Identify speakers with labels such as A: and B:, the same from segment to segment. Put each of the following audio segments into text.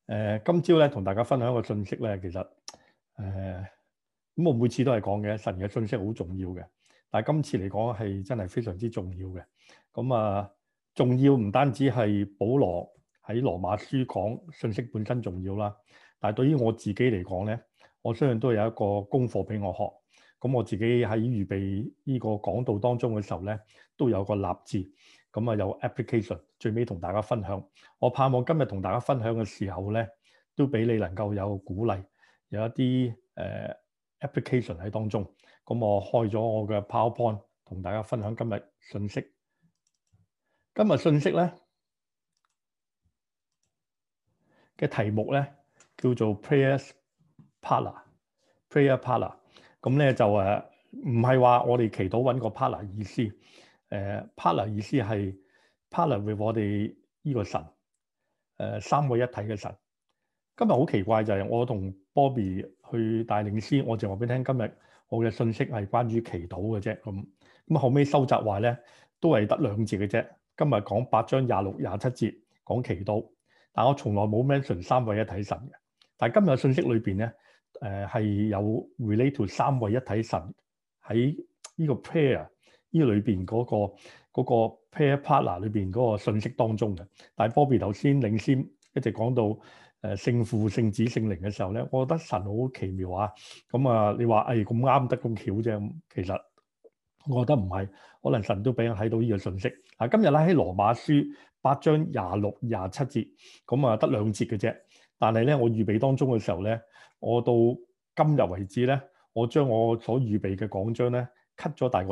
A: 今朝咧同大家分享一個信息咧，其實咁我每次都係講嘅，神嘅信息好重要嘅，但係今次嚟講係真係非常之重要嘅。咁重要唔單止係保羅喺羅馬書講信息本身重要啦，但係對於我自己嚟講咧，我相信都有一個功課俾我學。咁我自己喺預備呢個講道當中嘅時候咧，都有個立志。有 application， 最尾同大家分享。我盼望今日同大家分享嘅時候咧，都俾你能夠有鼓勵，有一啲application 喺當中。咁我開咗我嘅 PowerPoint，同大家分享今日信息。今日信息咧嘅題目咧叫做 Prayer Partner。Prayer Partner。咁咧就唔係話我哋祈禱揾個 partner 意思。partner 意思係 partner with 我哋呢個神，三位一體嘅神。今日好奇怪就係我同 Bobby 去帶領詩，我就話俾你聽，今日我嘅信息係關於祈禱嘅啫。咁後尾收集話咧，都係得2節嘅啫。今日講8章26、27節講祈禱，但我從來冇 mention 三位一體神嘅。但係今日嘅信息裏邊咧，係有 relate to 三位一體神喺呢個 prayer 呢裏邊嗰個 prayer partner 裏邊嗰個信息當中嘅。但係 Bobby 頭先領先一直講到聖父、聖子、聖靈嘅時候咧，我覺得神好奇妙啊！你話咁啱得咁巧啫，其實我覺得唔係，可能神都俾人睇到呢個信息。今日咧喺羅馬書8章26、27節，得2節嘅啫。但係咧，我預備當中嘅時候咧，我到今日為止咧，我將我所預備嘅講章咧 cut 咗大概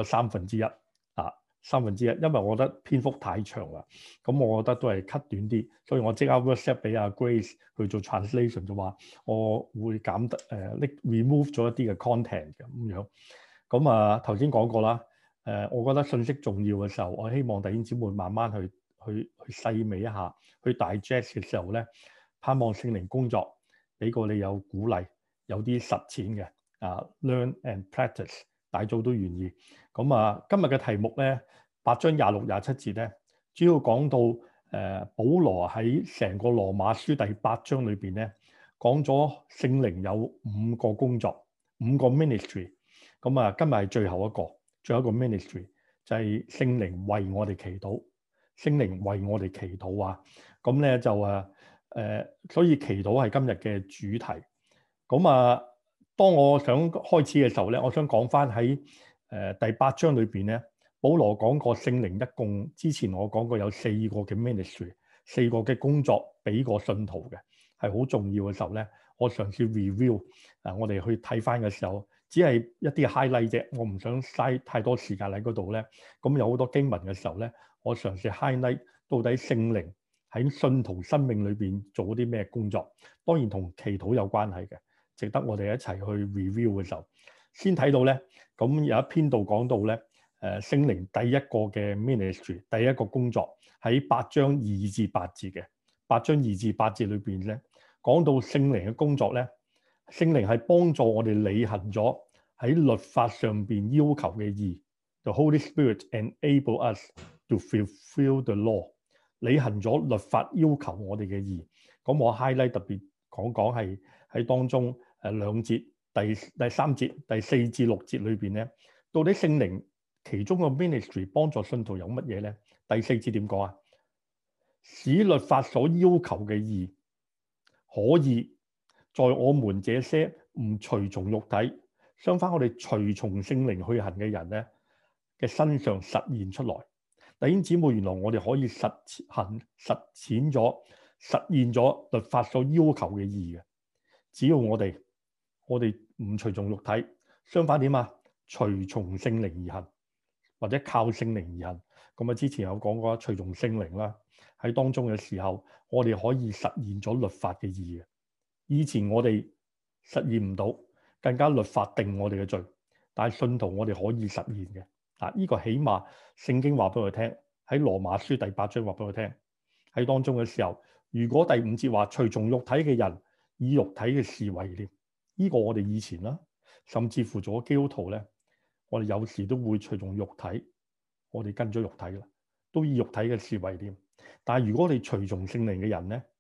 A: 1/3，1/3，因為我覺得篇幅太長啦。我覺得都係 cut 短啲，所以我即刻 WhatsApp 俾阿 Grace 去做 translation， 就話我會減得remove 咗一啲嘅 content 嘅咁樣。頭先講過啦，我覺得信息重要嘅時候，我希望弟兄姊妹慢慢去細味一下，去 digest 嘅時候咧，盼望聖靈工作，俾個你有鼓勵，有啲實踐嘅learn and practice， 大組都願意。今日嘅題目咧，8章26、27節咧，主要講到保羅喺成個羅馬書第8章裏邊咧，講咗聖靈有5個工作，5個 ministry。今日係最後一個 ministry， 就係聖靈為我哋祈禱，聖靈為我哋祈禱啊！咁咧就所以祈禱係今日嘅主題。當我想開始嘅時候咧，我想講翻喺第8章裏邊咧，保羅講過聖靈一共之前我講過有4個嘅 ministry， 4個嘅工作俾個信徒嘅，係好重要嘅時候咧，我嘗試 review 我哋去睇翻嘅時候，只係一啲 highlight 啫，我唔想嘥太多時間喺嗰度咧。有好多經文嘅時候咧，我嘗試 highlight 到底聖靈喺信徒生命裏邊做啲咩工作，當然同祈禱有關係嘅，值得我哋一齊去 review 嘅時候，先睇到咧。有一篇度講到咧，聖靈第一個嘅 ministry， 第一個工作喺8章2至8節嘅8章2至8節裏邊咧，講到聖靈嘅工作咧，聖靈係幫助我哋履行咗喺律法上邊要求嘅義。The Holy Spirit enable us to fulfill the law， 履行咗律法要求我哋嘅義。我 highlight 特別講係喺當中2節，第3節、第4至6節裏邊咧，到底聖靈其中個 ministry 幫助信徒有乜嘢咧？第4節點講啊？使律法所要求嘅義可以在我們這些唔隨從肉體，相反我哋隨從聖靈去行嘅人咧嘅身上實現出來。弟兄姊妹，原來我哋可以實踐咗、實現咗律法所要求嘅義嘅，只要我哋唔隨從肉體，相反點啊？隨從聖靈而行，或者靠聖靈而行。之前有講過隨從聖靈啦，喺當中嘅時候，我哋可以實現咗律法嘅義嘅。以前我哋實現唔到，更加律法定我哋嘅罪，但係信徒我哋可以實現嘅。呢個起碼聖經話俾我哋聽，喺羅馬書第8章話俾我聽，喺當中嘅時候，如果第5節話隨從肉體嘅人以肉體嘅事為念，呢個我哋以前啦，甚至乎做基督徒咧，我哋有時都會隨從肉體，我哋跟咗肉體啦，都以肉體嘅事為念。但係如果你隨從聖靈嘅人咧，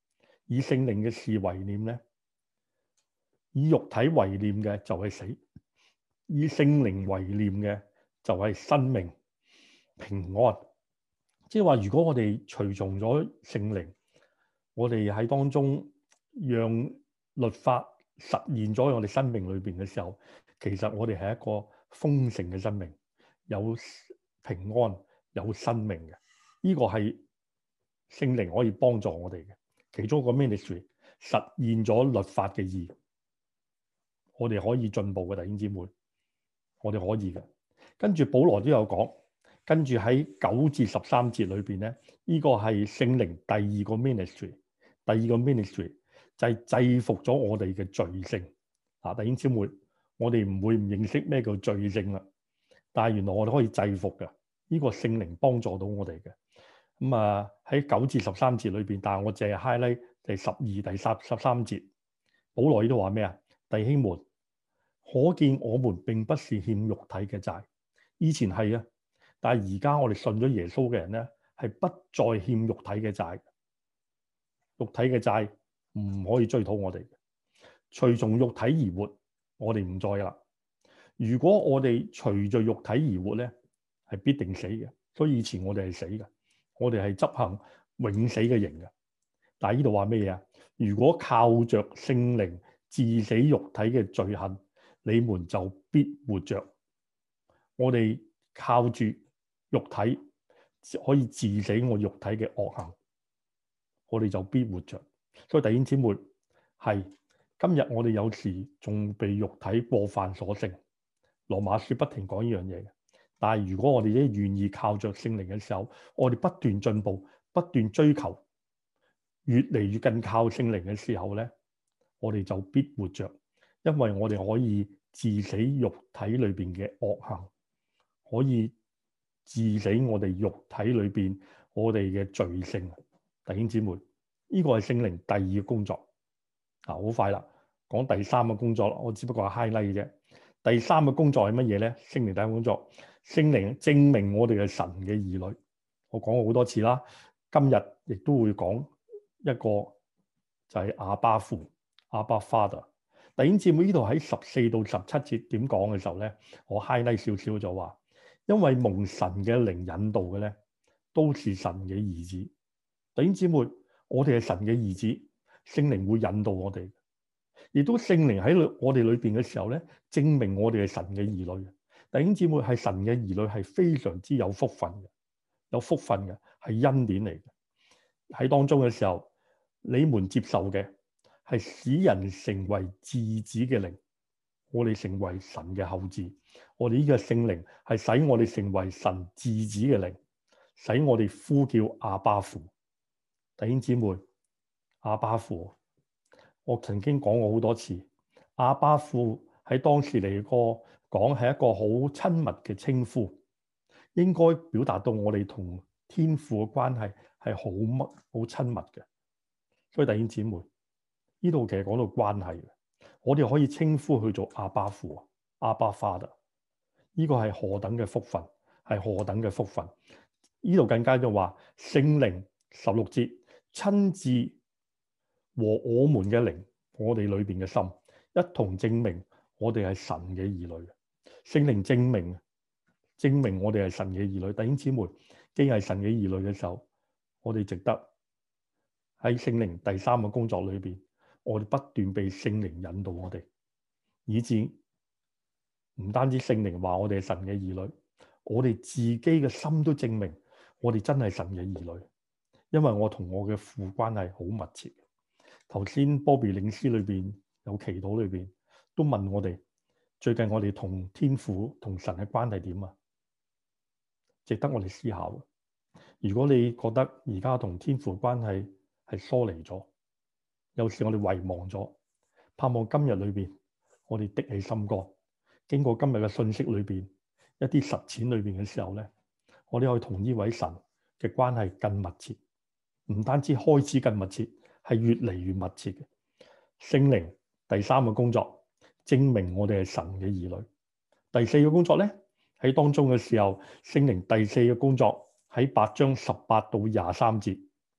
A: 以聖靈嘅事為念咧，以肉體為念嘅就係死，以聖靈為念嘅就係生命平安。即係話，如果我哋隨從咗聖靈，我哋喺當中讓律法實現咗我哋生命裏邊嘅時候，其實我哋係一個豐盛嘅生命，有平安、有生命嘅。呢個係聖靈可以幫助我哋嘅其中一個 ministry， 實現咗律法嘅義。我哋可以進步嘅弟兄姊妹，我哋可以嘅。跟住保羅都有講，跟住喺9至13節裏邊咧，呢個係聖靈第二個 ministry， 第二個 ministry 就係制服咗我哋嘅罪性。弟兄姊妹，我哋唔會唔認識咩叫罪性啦，但係原來我哋可以制服嘅，呢個聖靈幫助到我哋嘅。咁喺9至13節裏邊，但係我淨係 highlight 第12、第13節，保羅呢度話咩啊？弟兄們，可見我們並不是欠肉體嘅債，以前係啊，但係而家我哋信咗耶穌嘅人咧，係不再欠肉體嘅債。肉體嘅債唔可以追討我哋嘅，隨從肉體而活，我哋唔再啦。如果我哋隨着肉體而活咧，係必定死嘅。所以以前我哋係死嘅，我哋係執行永死嘅刑嘅。但係呢度話咩嘢啊？如果靠着聖靈治死肉體嘅罪行，你們就必活着。我哋靠住肉體可以治死我肉體嘅惡行，我哋就必活着。所以弟兄姊妹，係今日我哋有時仲被肉體過犯所勝。羅馬書不停講呢樣嘢嘅。但係如果我哋咧願意靠着聖靈嘅時候，我哋不斷進步，不斷追求，越嚟越更靠聖靈嘅時候咧，我哋就必活着，因為我哋可以治死肉體裏邊嘅惡行，可以治死我哋肉體裏邊我哋嘅罪性。弟兄姊妹，呢個係聖靈第二個工作。好快啦，講第三個工作啦，我只不過係 highlight 嘅啫。第三個工作係乜嘢咧？聖靈第一個工作，聖靈證明我哋係神嘅兒女。我講過好多次啦，今日亦都會講一個就係阿爸父，阿爸 Father。弟兄姊妹，呢度喺14到17節點講嘅時候咧，我 highlight 少少就話，因為蒙神嘅靈引導嘅咧，都是神嘅兒子。弟兄姊妹，我哋係神嘅兒子，聖靈會引導我哋。亦都聖靈喺我哋裏邊嘅時候咧，證明我哋係神嘅兒女。弟兄姊妹，係神嘅兒女係非常之有福分嘅，有福分嘅係恩典嚟嘅。喺當中嘅時候，你們接受嘅係使人成為嗣子嘅靈，我哋成為神嘅後嗣。我哋呢個聖靈係使我哋成為神嗣子嘅靈，使我哋呼叫阿爸父。弟兄姊妹，阿爸父。我曾經講過好多次，阿爸父喺當時嚟講係一個好親密嘅稱呼，應該表達到我哋同天父嘅關係係好親密嘅。所以弟兄姊妹，呢度其實講到關係嘅，我哋可以稱呼佢做阿爸父、阿爸 Father。呢個係何等嘅福分，係何等嘅福分。呢度更加就話聖靈16節親自和我們嘅靈，我哋裏邊嘅心一同證明我哋係神嘅兒女。聖靈證明我哋係神嘅兒女。弟兄姊妹，既係神嘅兒女嘅時候，我哋值得喺聖靈第三個工作裏邊，我哋不斷被聖靈引導我哋，以致唔單止聖靈話我哋係神嘅兒女，我哋自己嘅心都證明我哋真係神嘅兒女，因為我同我嘅父關係好密切。頭先波比領詩裏邊有祈禱裏邊都問我哋，最近我哋同天父同神嘅關係點啊？值得我哋思考。如果你覺得而家同天父關係係疏離咗，有時我哋遺忘咗，盼望今日裏邊我哋的起心肝，經過今日嘅信息裏邊一啲實踐裏邊嘅時候咧，我哋可以同呢位神嘅關係更密切，唔單止開始更密切，係越嚟越密切嘅。聖靈第三個工作，證明我哋係神嘅兒女。第四個工作咧，喺當中嘅時候，聖靈第四個工作喺8章18到23節，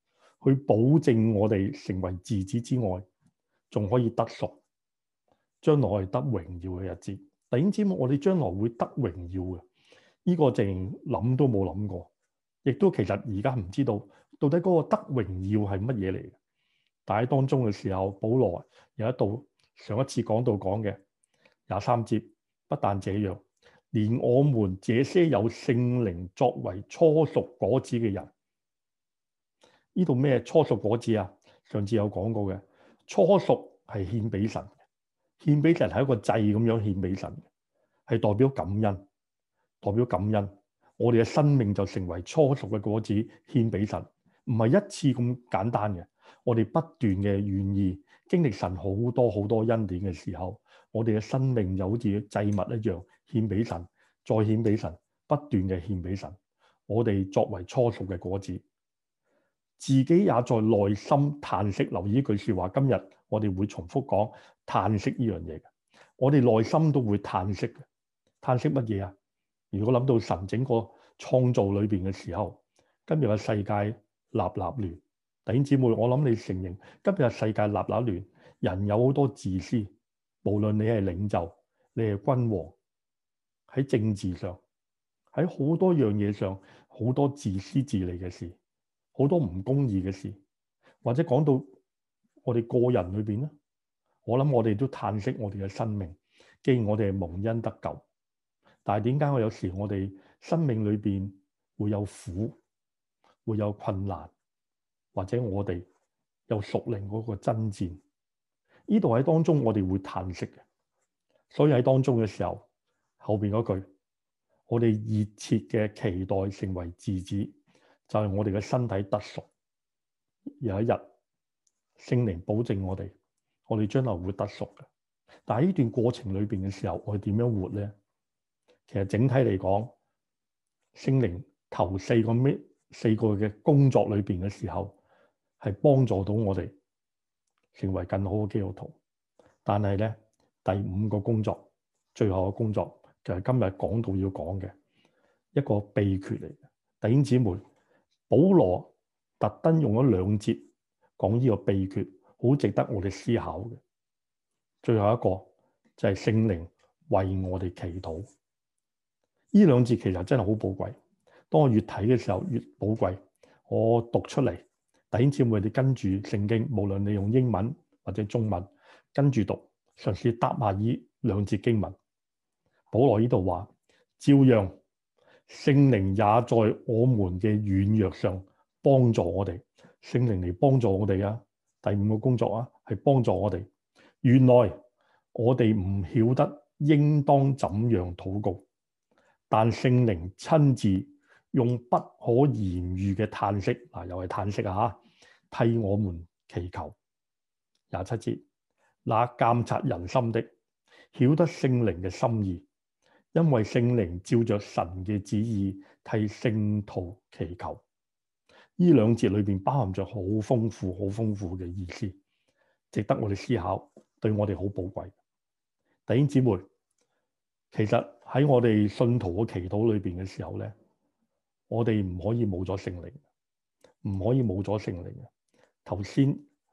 A: 去保證我哋成為兒子之外，仲可以得贖，將來係得榮耀嘅日子。弟兄姊妹，我哋將來會得榮耀嘅，呢個淨諗都冇諗過，亦都其實而家唔知道到底嗰個得榮耀係乜嘢嚟嘅。但喺當中嘅時候，保羅有一度上一次講到講嘅23節，不但這樣，連我們這些有聖靈作為初熟果子嘅人，呢度咩初熟果子啊？上次有講過嘅，初熟係獻俾神嘅，獻俾神係一個祭咁樣獻俾神嘅，係代表感恩，代表感恩。我哋嘅生命就成為初熟嘅果子獻俾神，唔係一次咁簡單嘅。我哋不斷嘅願意經歷神好多好多恩典嘅時候，我哋嘅生命就好似祭物一樣獻俾神，再獻俾神，不斷嘅獻俾神。我哋作為初熟嘅果子，自己也在內心嘆息。留意呢句説話，今日我哋會重複講嘆息呢樣嘢嘅。我哋內心都會嘆息嘅。嘆息乜嘢啊？如果諗到神整個創造裏邊嘅時候，今日嘅世界立立亂。弟兄姊妹，我諗你承認今日世界立立亂，人有好多自私，無論你係領袖，你係君王，喺政治上，喺好多樣嘢上，好多自私自利嘅事，好多唔公義嘅事，或者講到我哋個人裏邊咧，我諗我哋都嘆息我哋嘅生命。既然我哋係蒙恩得救，但係點解我有時我哋生命裏邊會有苦，會有困難？或者我哋有屬靈嗰個爭戰，呢度喺當中我哋會嘆息嘅。所以喺當中嘅時候，後邊嗰句，我哋熱切嘅期待成為兒子，就係我哋嘅身體得贖。有一日聖靈保證我哋將來會得贖嘅。但係呢段過程裏邊嘅時候，我哋點樣活咧？其實整體嚟講，聖靈頭4個嘅工作裏邊嘅時候，係幫助到我哋成為更好嘅基督徒，但係咧第5個工作，最後嘅工作就係今日講到要講嘅一個秘訣嚟嘅。弟兄姊妹，保羅特登用咗2節講呢個秘訣，好值得我哋思考嘅。最後一個就係聖靈為我哋祈禱。呢2節其實真係好寶貴，當我越睇嘅時候越寶貴。我讀出嚟。弟兄姊妹，你跟住聖經，無論你用英文或者中文跟住讀，嘗試答下呢2節經文。保羅呢度話，照樣聖靈也在我們嘅軟弱上幫助我哋。聖靈嚟幫助我哋啊！第5個工作啊，係幫助我哋。原來我哋唔曉得應當怎樣禱告，但聖靈親自用不可言喻嘅嘆息，又係嘆息啊！替我們祈求。27節，那監察人心的，曉得聖靈嘅心意，因為聖靈照着神嘅旨意替聖徒祈求。呢2節裏邊包含着好豐富、好豐富嘅意思，值得我哋思考，對我哋好寶貴。弟兄姊妹，其實喺我哋信徒嘅祈禱裏邊嘅時候咧，我哋唔可以冇咗聖靈，唔可以冇咗聖靈嘅。頭先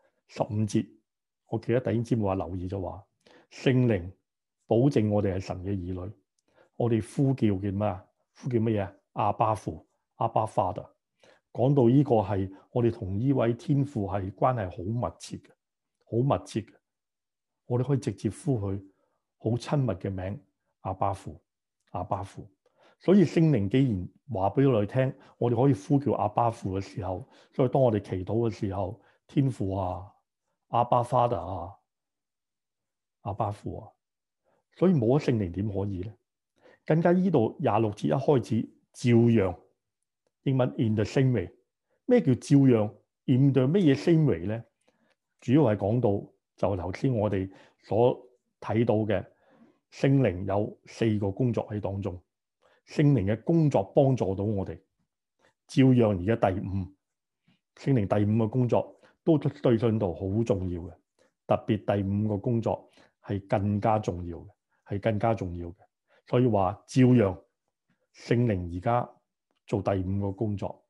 A: 15節，我記得弟兄姊妹話留意咗話，聖靈保證我哋係神嘅兒女，我哋呼叫嘅咩啊？呼叫乜嘢？阿爸父，阿爸 Father。講到呢個係我哋同呢位天父係關係好密切嘅，好密切嘅。我哋可以直接呼佢好親密嘅名，阿爸父，阿爸父。所以聖靈既然話俾我哋聽，我哋可以呼叫阿爸父嘅時候，所以當我哋祈禱嘅時候，天父啊，阿爸 Father 啊，阿爸父啊，所以冇咗聖靈點可以咧？更加呢度26節一開始，照樣，英文 in the same way。咩叫照樣 in the 乜嘢 same way 咧？主要係講到就頭先我哋所睇到嘅聖靈有4個工作喺當中。聖靈嘅工作幫助到我哋，照樣而家第5，聖靈第5個工作都對信徒好重要嘅，特別第5個工作係更加重要嘅，係更加重要嘅。所以話照樣聖靈而家做第5個工作，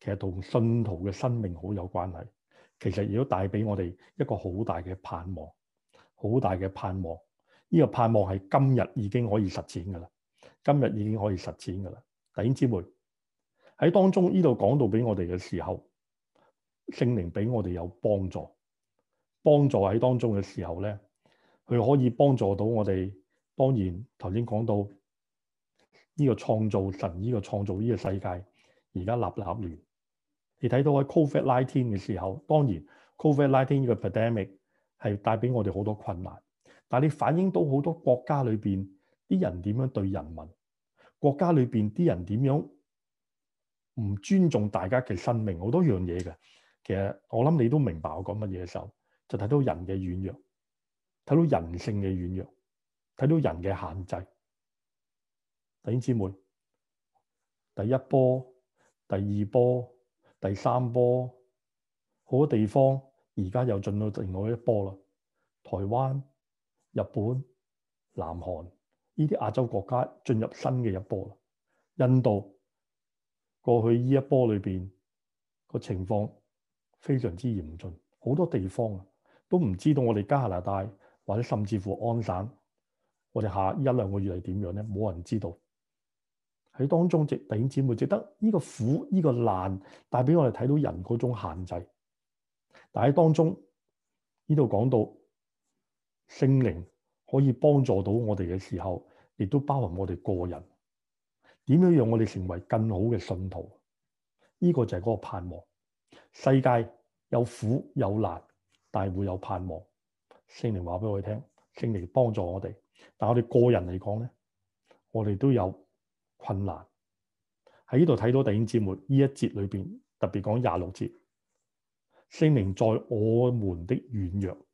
A: 其實同信徒嘅生命好有關係。其實亦都帶俾我哋一個好大嘅盼望，好大嘅盼望。呢個盼望係今日已經可以實踐㗎啦，今日已經可以實踐㗎啦。弟兄姊妹喺當中呢度講到俾我哋嘅時候，聖靈俾我哋有幫助，幫助喺當中嘅時候咧，佢可以幫助到我哋。當然頭先講到呢個創造神，呢個創造呢個世界而家立亂。你睇到喺 COVID-19 嘅時候，當然 COVID-19 呢個 pandemic 係帶俾我哋好多困難，但係你反映到好多國家裏邊啲人點樣對人民，國家裏邊啲人點樣唔尊重大家嘅生命，好多樣嘢嘅。其實我諗你都明白我講乜嘢嘅時候，就睇到人嘅軟弱，睇到人性嘅軟弱，睇到人嘅限制。弟兄姊妹，第一波、第二波、第三波，好多地方而家又進到另外一波啦。台灣、日本、南韓呢啲亞洲國家進入新嘅一波啦。印度過去呢一波裏邊個情況非常之嚴峻，好多地方啊都唔知道我哋加拿大或者甚至乎安省，我哋下一兩個月係點樣咧？冇人知道。喺當中，弟兄姊妹，值得呢個苦、呢個難帶俾我哋睇到人嗰種限制。但喺當中呢度講到聖靈可以幫助到我哋嘅時候，亦都包含我哋個人點樣讓我哋成為更好嘅信徒。呢個就係嗰個盼望。世界有苦有難，但係會有盼望。聖靈話俾我哋聽，聖靈幫助我哋。但係我哋個人嚟講咧，我哋都有困難。喺呢度睇到弟兄姊妹呢一節裏邊，特別講26節，聖靈在我們的軟弱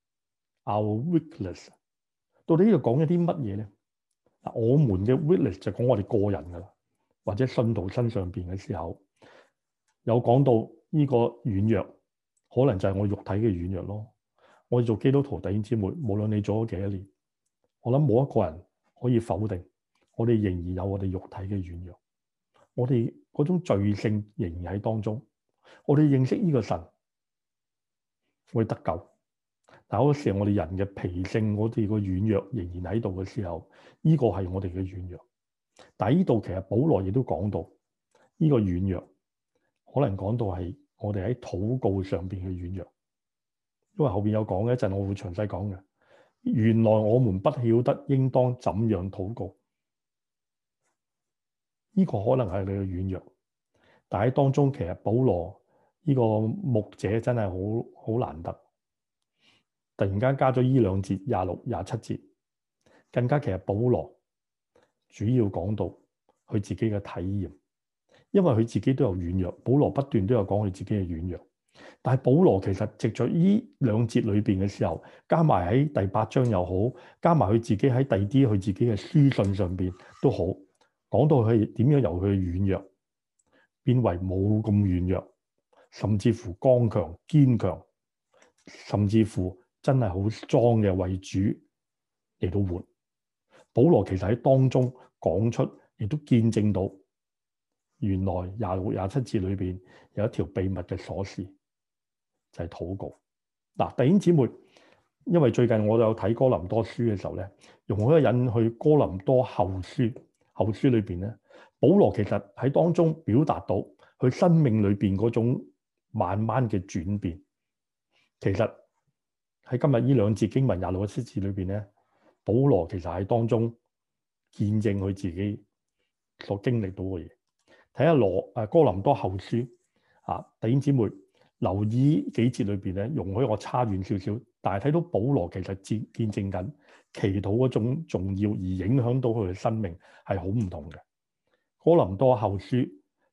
A: ，our weakness， 到底呢度講一啲乜嘢咧？嗱，我們嘅 weakness 就講我哋個人噶啦，或者信徒身上邊嘅時候，有講到呢個軟弱，可能就係我肉體嘅軟弱咯。我哋做基督徒弟兄姊妹，無論你做咗幾多年，我諗冇一個人可以否定，我哋仍然有我哋肉體嘅軟弱。我哋嗰種罪性仍然喺當中，我哋認識呢個神會得救，但係嗰時候我哋人嘅脾性，我哋個軟弱仍然喺度嘅時候，呢個係我哋嘅軟弱。但係呢度其實保羅亦都講到呢個軟弱，可能講到係我哋喺禱告上邊嘅軟弱，因為後邊有講嘅，一陣我會詳細講嘅。原來我們不曉得應當怎樣禱告。呢個可能係你嘅軟弱，但喺當中其實保羅呢個牧者真係好難得，突然間加咗呢兩節26、27節，更加其實保羅主要講到佢自己嘅體驗，因為佢自己都有軟弱，保羅不斷都有講佢自己嘅軟弱，但係保羅其實藉著呢兩節裏邊嘅時候，加埋喺第8章又好，加埋佢自己喺第啲佢自己嘅書信上邊都好。講到佢點樣由佢軟弱變為冇咁軟弱，甚至乎剛強堅強，甚至乎真係好 strong 嘅為主嚟到活。保羅其實喺當中講出，亦都見證到原來26、27節裏邊有一條秘密嘅鎖匙，就係禱告。嗱，弟兄姊妹，因為最近我有睇哥林多書嘅時候咧，容許一引去哥林多後書裏邊咧，保羅其實喺當中表達到佢生命裏邊嗰種慢慢嘅轉變。其實喺今日呢兩節經文26、27節裏邊咧，保羅其實喺當中見證佢自己所經歷到嘅嘢。睇下哥林多後書啊，弟兄姊妹留意幾節裏邊咧，容許我差遠少少，但係睇到保羅其實見證緊祈禱嗰種重要，而影響到佢嘅生命係好唔同嘅。哥林多後書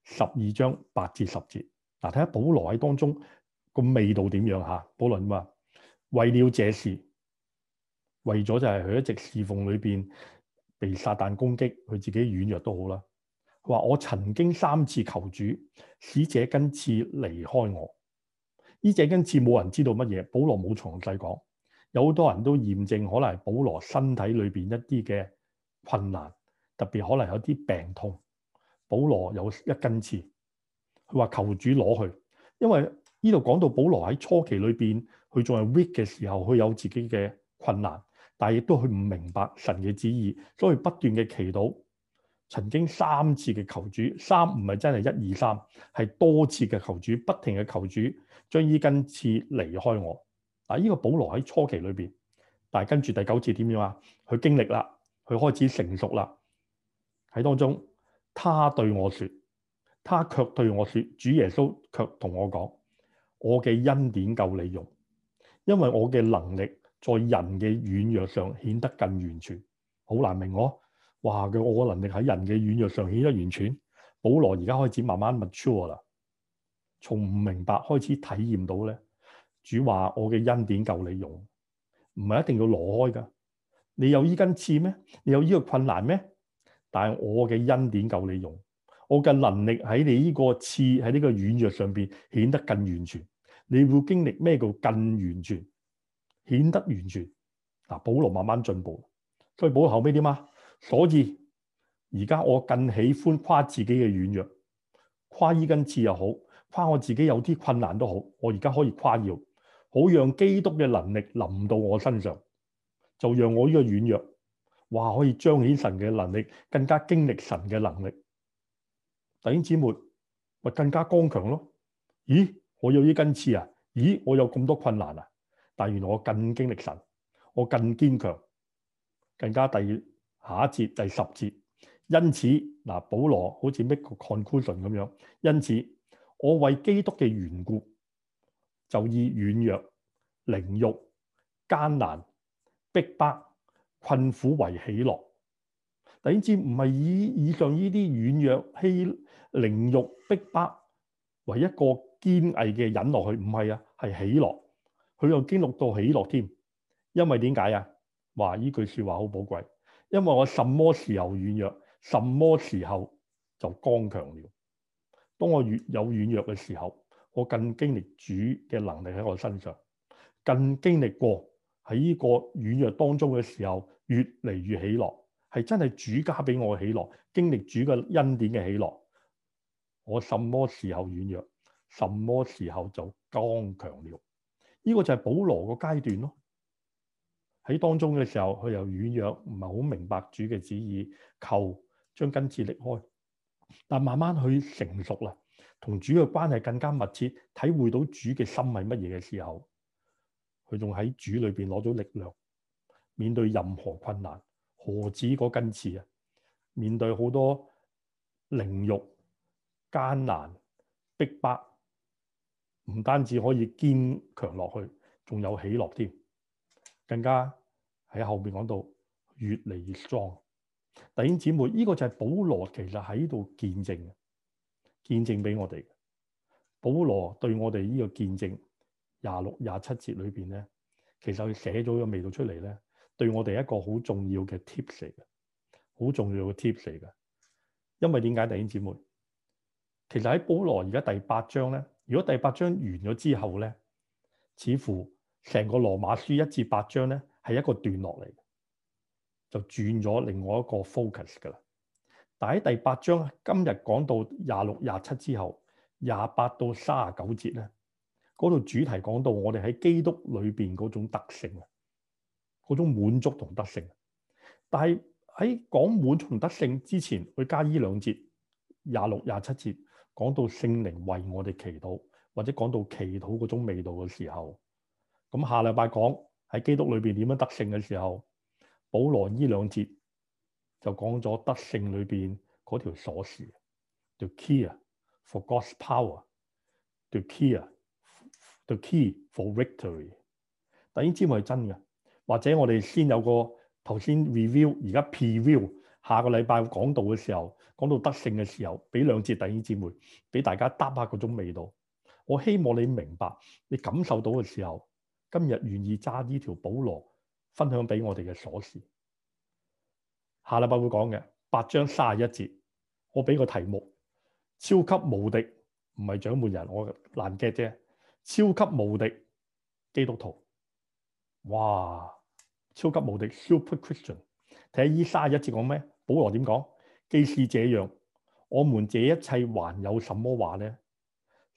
A: 12章8至10節，嗱，睇下保羅喺當中個味道點樣嚇？保羅話：為了這事，為咗就係佢一直侍奉裏邊被撒旦攻擊，佢自己軟弱都好啦。佢話：我曾經3次求主使這根刺離開我。呢這根刺冇人知道乜嘢，保羅冇詳細講。有好多人都驗證可能係保羅身體裏邊一啲嘅困難，特別可能有啲病痛。保羅有一根刺， 佢話求主攞去，因為呢度講到保羅喺初期裏邊，佢仲係 weak 嘅時候，佢有自己嘅困難，但係亦都佢唔明白神嘅旨意，所以不斷嘅祈禱，曾經3次嘅求主，唔係真係1、2、3，係多次嘅求主，不停嘅求主將呢根刺離開我。嗱，呢個保羅喺初期裏邊，但係跟住第9節點樣啊？佢經歷啦，佢開始成熟啦，喺當中，他對我說，他卻對我說，主耶穌卻同我講，我嘅恩典夠你用，因為我嘅能力在人嘅軟弱上顯得更完全。好難明我，哇！我嘅能力喺人嘅軟弱上顯得完全。保羅而家開始慢慢 mature 啦，從唔明白開始體驗到咧，主話我嘅恩典夠你用，唔係一定要攞開㗎。你有呢根刺咩？你有呢個困難咩？但係我嘅恩典夠你用，我嘅能力喺你呢個刺喺呢個軟弱上邊顯得更完全。你會經歷咩叫更完全？顯得完全。嗱，保羅慢慢進步，所以保羅後尾點啊？所以而家我更喜歡誇自己嘅軟弱，誇呢根刺又好，誇我自己有啲困難都好，我而家可以誇耀，好讓基督嘅能力臨到我身上，就讓我呢個軟弱，哇，可以彰顯神嘅能力，更加經歷神嘅能力。弟兄姊妹咪更加剛強咯。咦，我有呢根刺啊？咦，我有咁多困難啊？但原來我更經歷神，我更堅強，更加下一節第10節。因此嗱，保羅好似 make 個 conclusion 咁樣。因此，我為基督嘅緣故，就以軟弱、凌辱、艱難、逼迫、困苦為喜樂。弟兄姊妹，唔係以上呢啲軟弱、凌辱、逼迫為一個堅毅嘅忍落去，唔係啊，係喜樂。佢又經歷到喜樂添，因為點解啊？話呢句說話好寶貴，因為我什麼時候軟弱，什麼時候就剛強了。當我越有軟弱嘅時候，我更經歷主嘅能力喺我身上，更經歷過喺呢個軟弱當中嘅時候，越嚟越喜樂，係真係主加俾我嘅喜樂，經歷主嘅恩典嘅喜樂。我什麼時候軟弱，什麼時候就剛強了。呢個就係保羅個階段咯。喺當中嘅時候，佢又軟弱，唔係好明白主嘅旨意，求將根刺離開。但慢慢去成熟啦，同主嘅關係更加密切，體會到主嘅心係乜嘢嘅時候，佢仲喺主裏邊攞咗力量，面對任何困難，何止嗰根刺啊？面對好多凌辱、艱難、逼迫，唔單止可以堅強落去，仲有喜樂添，更加喺後面講到越嚟越 strong。弟兄姊妹，呢個就係保羅其實喺度見證俾我哋。保羅對我哋呢個見證26、27節裏邊咧，其實佢寫咗個味道出嚟咧，對我哋一個好重要嘅 tips 嚟嘅，好重要嘅 tips 嚟嘅。因為點解，弟兄姊妹？其實喺保羅而家第8章咧，如果第8章完咗之後咧，似乎成個羅馬書1至8章咧係一個段落嚟，就轉咗另外一個 focus 㗎啦。但喺第8章今日講到26、27之後，28到39節咧，嗰度主題講到我哋喺基督裏邊嗰種得勝啊，嗰種滿足同得勝。但係喺講滿足同得勝之前，佢加呢2節26、27節講到聖靈為我哋祈禱，或者講到祈禱嗰種味道嘅時候，咁下禮拜講喺基督裏邊點樣得勝嘅時候，保羅呢2節就講咗得勝裏邊嗰條鎖匙 ，the key for God's power，the key for victory。但呢啲係真嘅，或者我哋先有個頭先 review， 而家 preview， 下個禮拜講道嘅時候，講到得勝嘅時候，俾2節弟兄姊妹，俾大家嗒下嗰種味道。我希望你明白，你感受到嘅時候，今日願意揸呢條保羅分享俾我哋嘅鎖匙。下禮拜會講嘅8章31節，我俾個題目：超級無敵，唔係掌門人，我難 get 啫。超級無敵基督徒，哇！超級無敵 Super Christian。睇下31節講咩？保羅點講？既是這樣，我們這一切還有什麼話呢？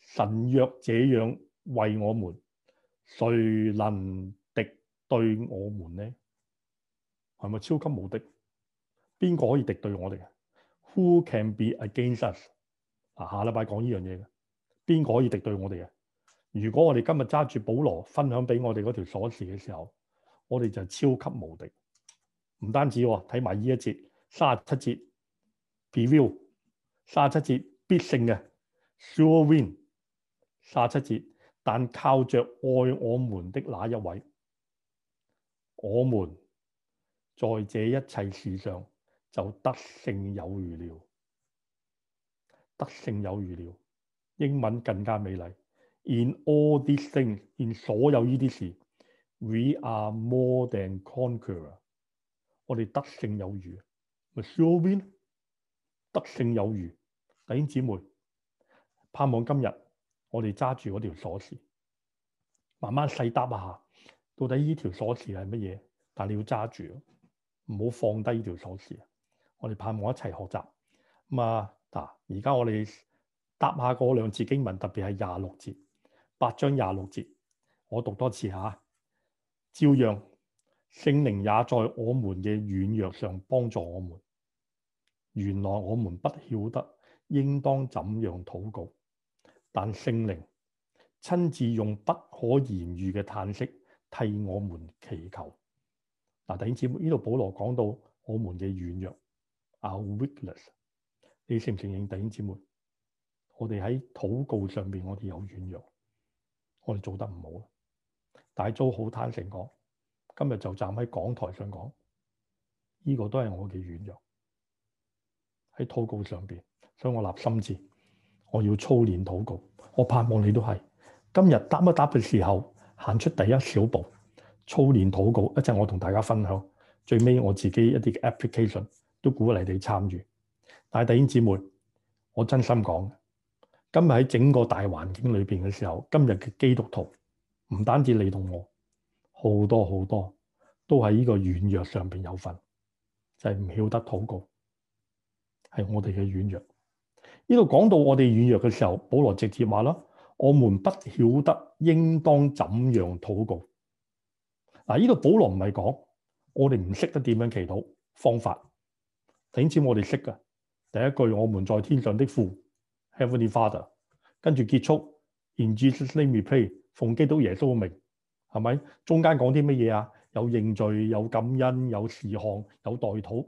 A: 神若這樣為我們，誰能敵對我們呢？係咪超級無敵？邊個可以敵對我哋？Who can be against us？ 下禮拜講呢樣嘢嘅，邊個可以敵對我哋嘅？如果我哋今日揸住保羅分享俾我哋嗰條鎖匙嘅時候，我哋就超級無敵。唔單止喎，睇埋呢一節37節 preview 37節必勝嘅 sure win 37節，但靠着愛我們的那一位，我們在這一切事上就得勝有餘了。得勝有餘了，英文更加美麗。In all these things， in 所有呢啲事 ，we are more than conqueror。我哋得勝有餘，咪 sure win， 得勝有餘。弟兄姊妹，盼望今日我哋揸住嗰條鎖匙，慢慢細答一下，到底呢條鎖匙係乜嘢？但你要揸住，唔好放低呢條鎖匙。我哋盼望一齊學習。而家我哋答下嗰兩節經文，特別係26節，8章26節，我讀多次下。照樣聖靈也在我們嘅軟弱上幫助我們。原來我們不曉得應當怎樣禱告，但聖靈親自用不可言喻嘅嘆息替我們祈求。弟兄姊妹，呢度保羅講到我們嘅軟弱 ，our weakness。你承唔承認，弟兄姊妹？我哋喺禱告上邊，我哋有軟弱，我哋做得唔好。大租好坦誠講，今日就站喺講台上講，呢個都係我嘅軟弱喺禱告上邊，所以我立心志，我要操練禱告。我盼望你都係今日答一答嘅時候，行出第一小步，操練禱告。一陣我同大家分享，最尾我自己一啲嘅 application 都鼓勵你參與。但係弟兄姊妹，我真心講，今日喺整個大環境裏邊嘅時候，今日嘅基督徒唔單止你同我，好多好多都喺呢個軟弱上邊有份，就係唔曉得禱告，係我哋嘅軟弱。呢度講到我哋軟弱嘅時候，保羅直接話啦：我們不曉得應當怎樣禱告。呢度保羅唔係講我哋唔識得點樣祈禱方法，弟兄姊妹，我哋識㗎。第一句，我們在天上的父 Heavenly Father， 跟住結束 In Jesus name we pray， 奉基督耶穌嘅名，係咪？中間講啲乜嘢啊？有認罪，有感恩，有事項，有代禱。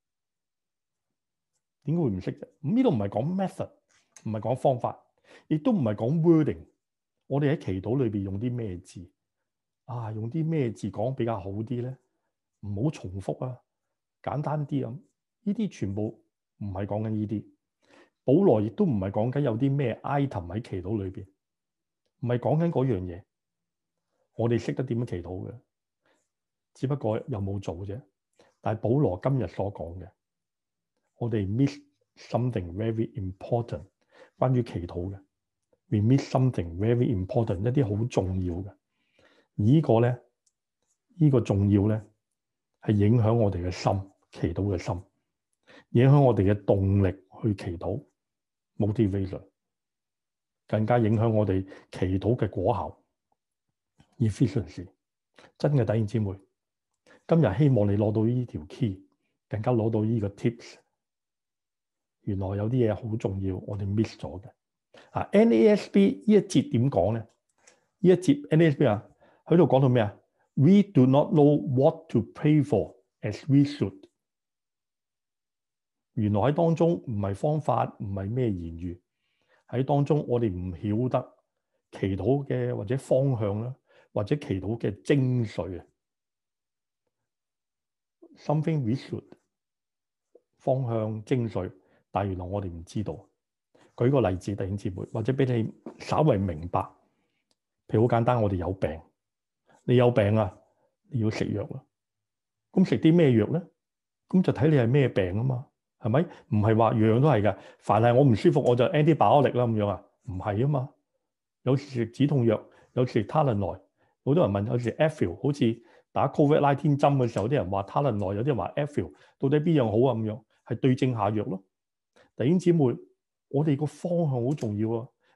A: 點解會唔識啫？呢度唔係講 method， 唔係講方法，亦都唔係講 wording。我哋喺祈禱裏邊用啲咩字啊？用啲咩字講比較好啲咧？唔好重複啊，簡單啲咁。呢啲全部唔係講緊呢啲。保羅亦都唔係講緊有啲咩 item 喺祈禱裏邊，唔係講緊嗰樣嘢。我哋識得點樣祈禱嘅，只不過有冇做啫。但係保羅今日所講嘅，我哋 miss something very important， 關於祈禱嘅 ，we miss something very important， 一啲好重要嘅。而呢個咧，呢個重要咧，係影響我哋嘅心，祈禱嘅心，影響我哋嘅動力去祈禱 motivation， 更加影響我哋祈禱嘅果效 efficiency。真嘅弟兄姊妹，今日希望你攞到呢條 key， 更加攞到呢個 tips。原來有啲嘢好重要，我哋 miss 咗嘅。NASB 呢一節點講咧？呢一節 NASB 喺度講到咩啊？ We do not know what to pray for as we should。原來喺當中唔係方法，唔係咩言語，喺當中我哋唔曉得祈禱嘅或者方向啦，或者祈禱嘅精髓啊。Something we should 方向精髓，但係原來我哋唔知道。舉個例子，弟兄姊妹，或者俾你稍為明白。譬如好簡單，我哋有病，你有病啊，你要食藥啦。咁食啲咩藥咧？咁就睇你係咩病啊嘛。係咪？唔係話樣樣都係㗎。凡係我唔舒服，我就 antibiotic 啦咁樣啊？唔係啊嘛。有時食止痛藥，有時食 Tylenol。好多人問，有時 Advil， 好似打 COVID-19 針嘅時候，有啲人話 Tylenol， 有啲人話 Advil， 到底邊樣好啊？咁樣係對症下藥咯。弟兄姊妹，我哋個方向好重要啊！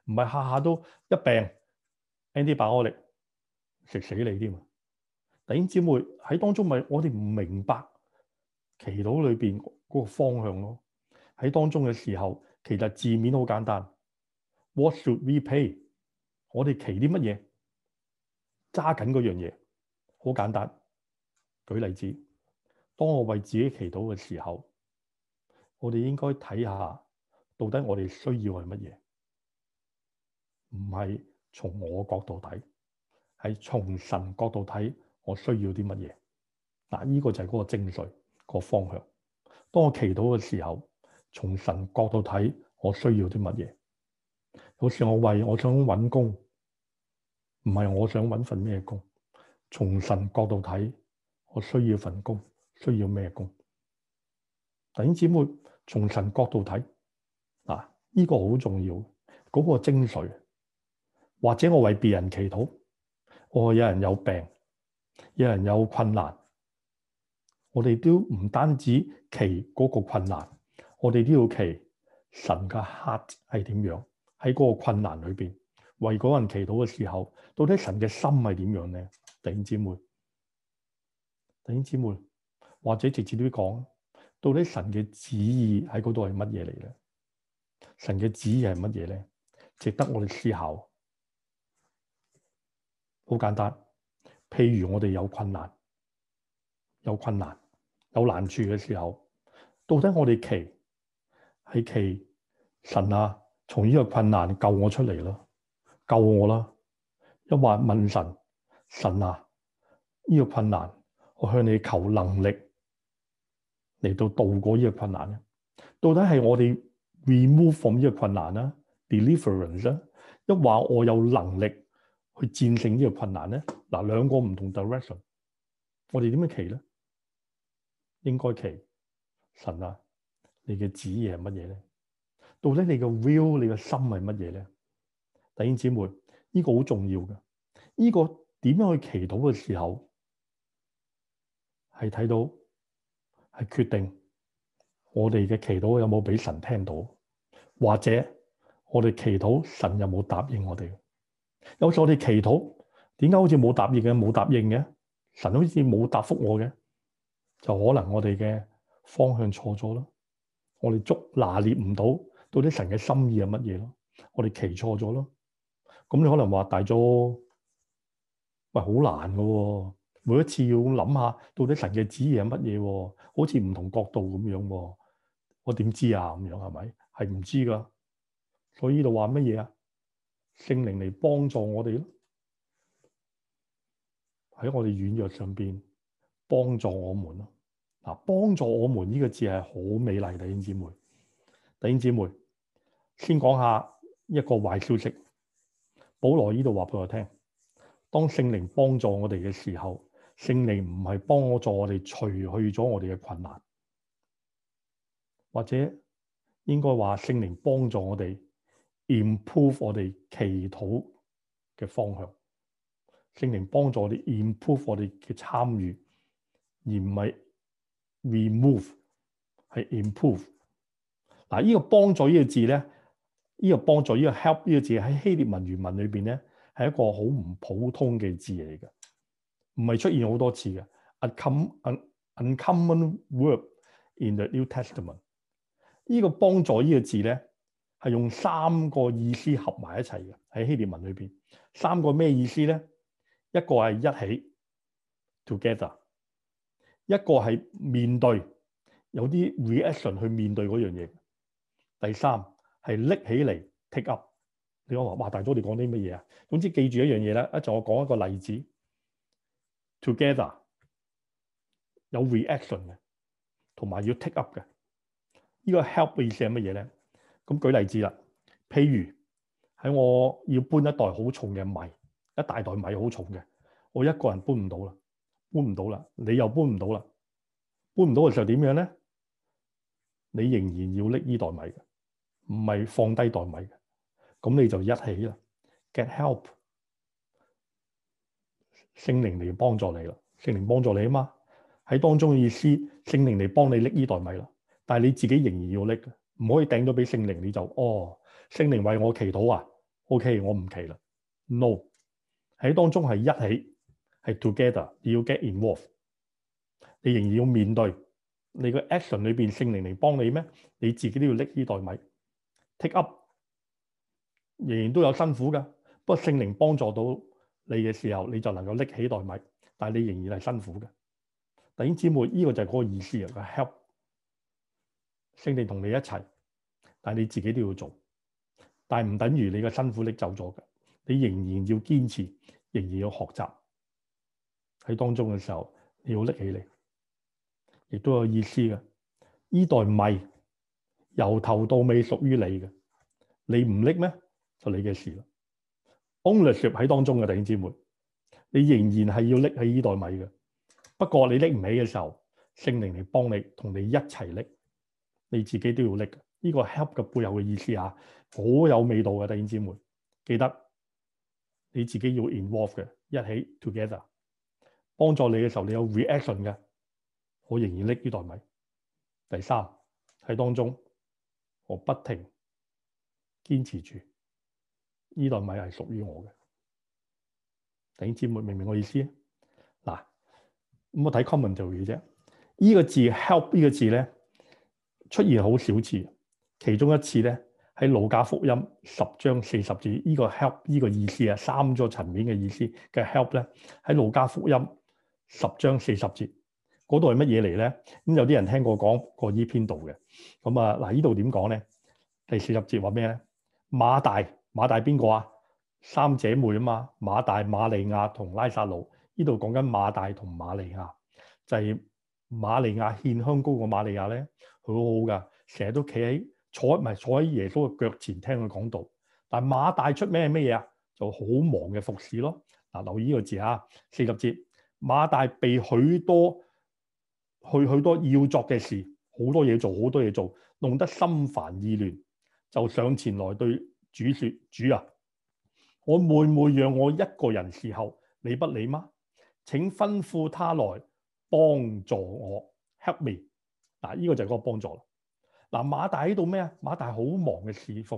A: 唔係下下都一病 antibiotic 食死你添啊！弟兄姊妹喺當中咪我哋唔明白祈禱裏邊嗰個方向咯。喺當中嘅時候，其實字面好簡單。What should we pray？ 我哋祈啲乜嘢？揸緊嗰樣嘢，好簡單。舉例子，當我為自己祈禱嘅時候，我哋應該睇下到底我哋需要係乜嘢，唔係從我角度睇，係從神角度睇我需要啲乜嘢。嗱，呢個就係嗰個精髓，個方向。當我祈禱嘅時候，從神角度睇我需要啲乜嘢。有時我想揾工，唔係我想揾份咩工。從神角度睇，我需要份工，需要咩工？弟兄姊妹，從神角度睇，嗱，呢個好重要，嗰個精髓。或者我為別人祈禱，有人有病，有人有困難，我哋都唔單止祈嗰個困難，我哋都要祈神嘅 heart 係點樣喺嗰個困難裏邊為嗰人祈禱嘅時候，到底神嘅心係點樣咧？弟兄姊妹，或者直接啲講，到底神嘅旨意喺嗰度係乜嘢嚟咧？神嘅旨意係乜嘢咧？值得我哋思考。好簡單，譬如我哋有困難、有難處嘅時候，到底我哋祈神啊，從呢個困難救我出嚟啦，救我啦！一話問神啊，呢個困難，我向你求能力嚟到渡過呢個困難咧。到底係我哋 remove from 呢個困難啦 ，deliverance 啦，一話我有能力去戰勝呢個困難咧。嗱，兩個唔同 direction， 我哋點樣祈咧？應該祈神啊，你嘅旨意係乜嘢咧？到底你嘅 will， 你嘅心係乜嘢咧？弟兄姊妹，呢個好重要嘅。呢個點樣去祈禱嘅時候，係睇到係決定我哋嘅祈禱有冇俾神聽到，或者我哋祈禱神有冇答應我哋。有時我哋祈禱，點解好似冇答應嘅？神好似冇答覆我嘅，就可能我哋嘅方向錯咗咯。我哋拿捏唔到底神嘅心意係乜嘢咯。我哋祈錯咗咯。咁你可能話大咗，喂，好難㗎喎。每一次要諗下到底神嘅旨意係乜嘢，好似唔同角度咁樣喎。我點知啊？咁樣係咪？係唔知㗎。所以呢度話乜嘢啊？聖靈嚟幫助我哋咯，喺我哋軟弱上邊幫助我們咯。嗱，幫助我們呢個字係好美麗，弟兄姊妹。弟兄姊妹，先講下一個壞消息。保羅呢度話俾我聽，當聖靈幫助我哋嘅時候，聖靈唔係幫助我哋除去咗我哋嘅困難，或者應該話聖靈幫助我哋 improve 我哋祈禱嘅方向。聖靈幫助我哋 improve 我哋嘅參與，而唔係 remove， 係 improve。嗱，呢個幫助呢個字咧，呢個幫助呢個 help 呢個字喺希臘文原文裏邊咧，係一個好唔普通嘅字嚟嘅，唔係出現好多次嘅。uncommon word in the New Testament。呢個幫助呢個字咧，係用三個意思合埋一齊嘅，喺希臘文裏邊。三個咩意思咧？一個係一起 together， 一個係面對，有啲 reaction 去面對嗰樣嘢。第三係拎起嚟 take up。你講話大咗，你講啲乜嘢啊？總之記住一樣嘢啦。一陣我講一個例子 ，together 有 reaction 嘅，同埋要 take up 嘅。呢個 help 嘅意思係乜嘢咧？咁舉例子啦，譬如喺我要搬一袋好重嘅米，一大袋米好重嘅，我一個人搬唔到啦，你又搬唔到啦，搬唔到嘅時候點樣咧？你仍然要拎呢袋米嘅，唔係放低袋米嘅，咁你就一起啦 ，get help， 聖靈嚟幫助你啦，聖靈幫助你啊嘛，喺當中嘅意思，聖靈嚟幫你拎呢袋米啦，但係你自己仍然要拎嘅，唔可以掟咗俾聖靈，你就聖靈為我祈禱啊， OK， 我唔祈啦。No， 喺當中係一起，係 together， 你要 get involved， 你仍然要面對你個 action 裏邊聖靈嚟幫你咩？你自己都要拎呢袋米 take up， 仍然都有辛苦㗎。不過聖靈幫助到你嘅時候，你就能夠拎起袋米，但係你仍然係辛苦嘅。弟兄姊妹，呢個就係嗰個意思啊！個 help， 聖靈同你一齊，但係你自己都要做，但係唔等於你嘅辛苦拎走咗嘅，你仍然要堅持，仍然要學習喺當中嘅時候，你要拎起嚟，亦都有意思嘅。呢袋米由頭到尾屬於你嘅，你唔拎咩就你嘅事啦。ownership 喺當中嘅弟兄姊妹，你仍然係要拎起呢袋米嘅。不過你拎唔起嘅時候，聖靈嚟幫你，同你一齊拎，你自己都要拎。呢個 help 嘅背後嘅意思啊，好有味道嘅弟兄姊妹，記得你自己要 involve 嘅，一起 together 幫助你嘅時候，你有 reaction 嘅，我仍然拎呢袋米。第三喺當中，我不停堅持住呢袋米係屬於我嘅。弟兄姊妹明唔明我意思？嗱，咁我睇 commentary 啫。呢個字 help 呢個字咧出現好少次，其中一次咧喺路加福音10章40節，呢個 help 呢個意思啊，三個層面嘅意思嘅 help 咧喺路加福音10章40節嗰度係乜嘢嚟咧？咁有啲人聽過講過呢篇道嘅。咁啊嗱，呢度點講咧？第40節話咩咧？馬大邊個啊？三姐妹啊嘛，馬大、馬利亞同拉撒路。呢度講緊馬大同馬利亞，就係馬利亞獻香膏個馬利亞咧，佢好好噶，成日都企喺坐喺耶穌嘅腳前聽佢講道。但係馬大出咩嘢啊？就好忙嘅服侍咯。嗱，留意呢個字啊，40節，馬大被許多要作嘅事，好多嘢做，弄得心煩意亂，就上前來對主說：主啊，我妹妹讓我一個人侍候，你不理嗎？請吩咐他來幫助我 ，help me。嗱，呢個就係嗰個幫助啦。嗱，馬大喺度咩啊？馬大好忙嘅侍奉，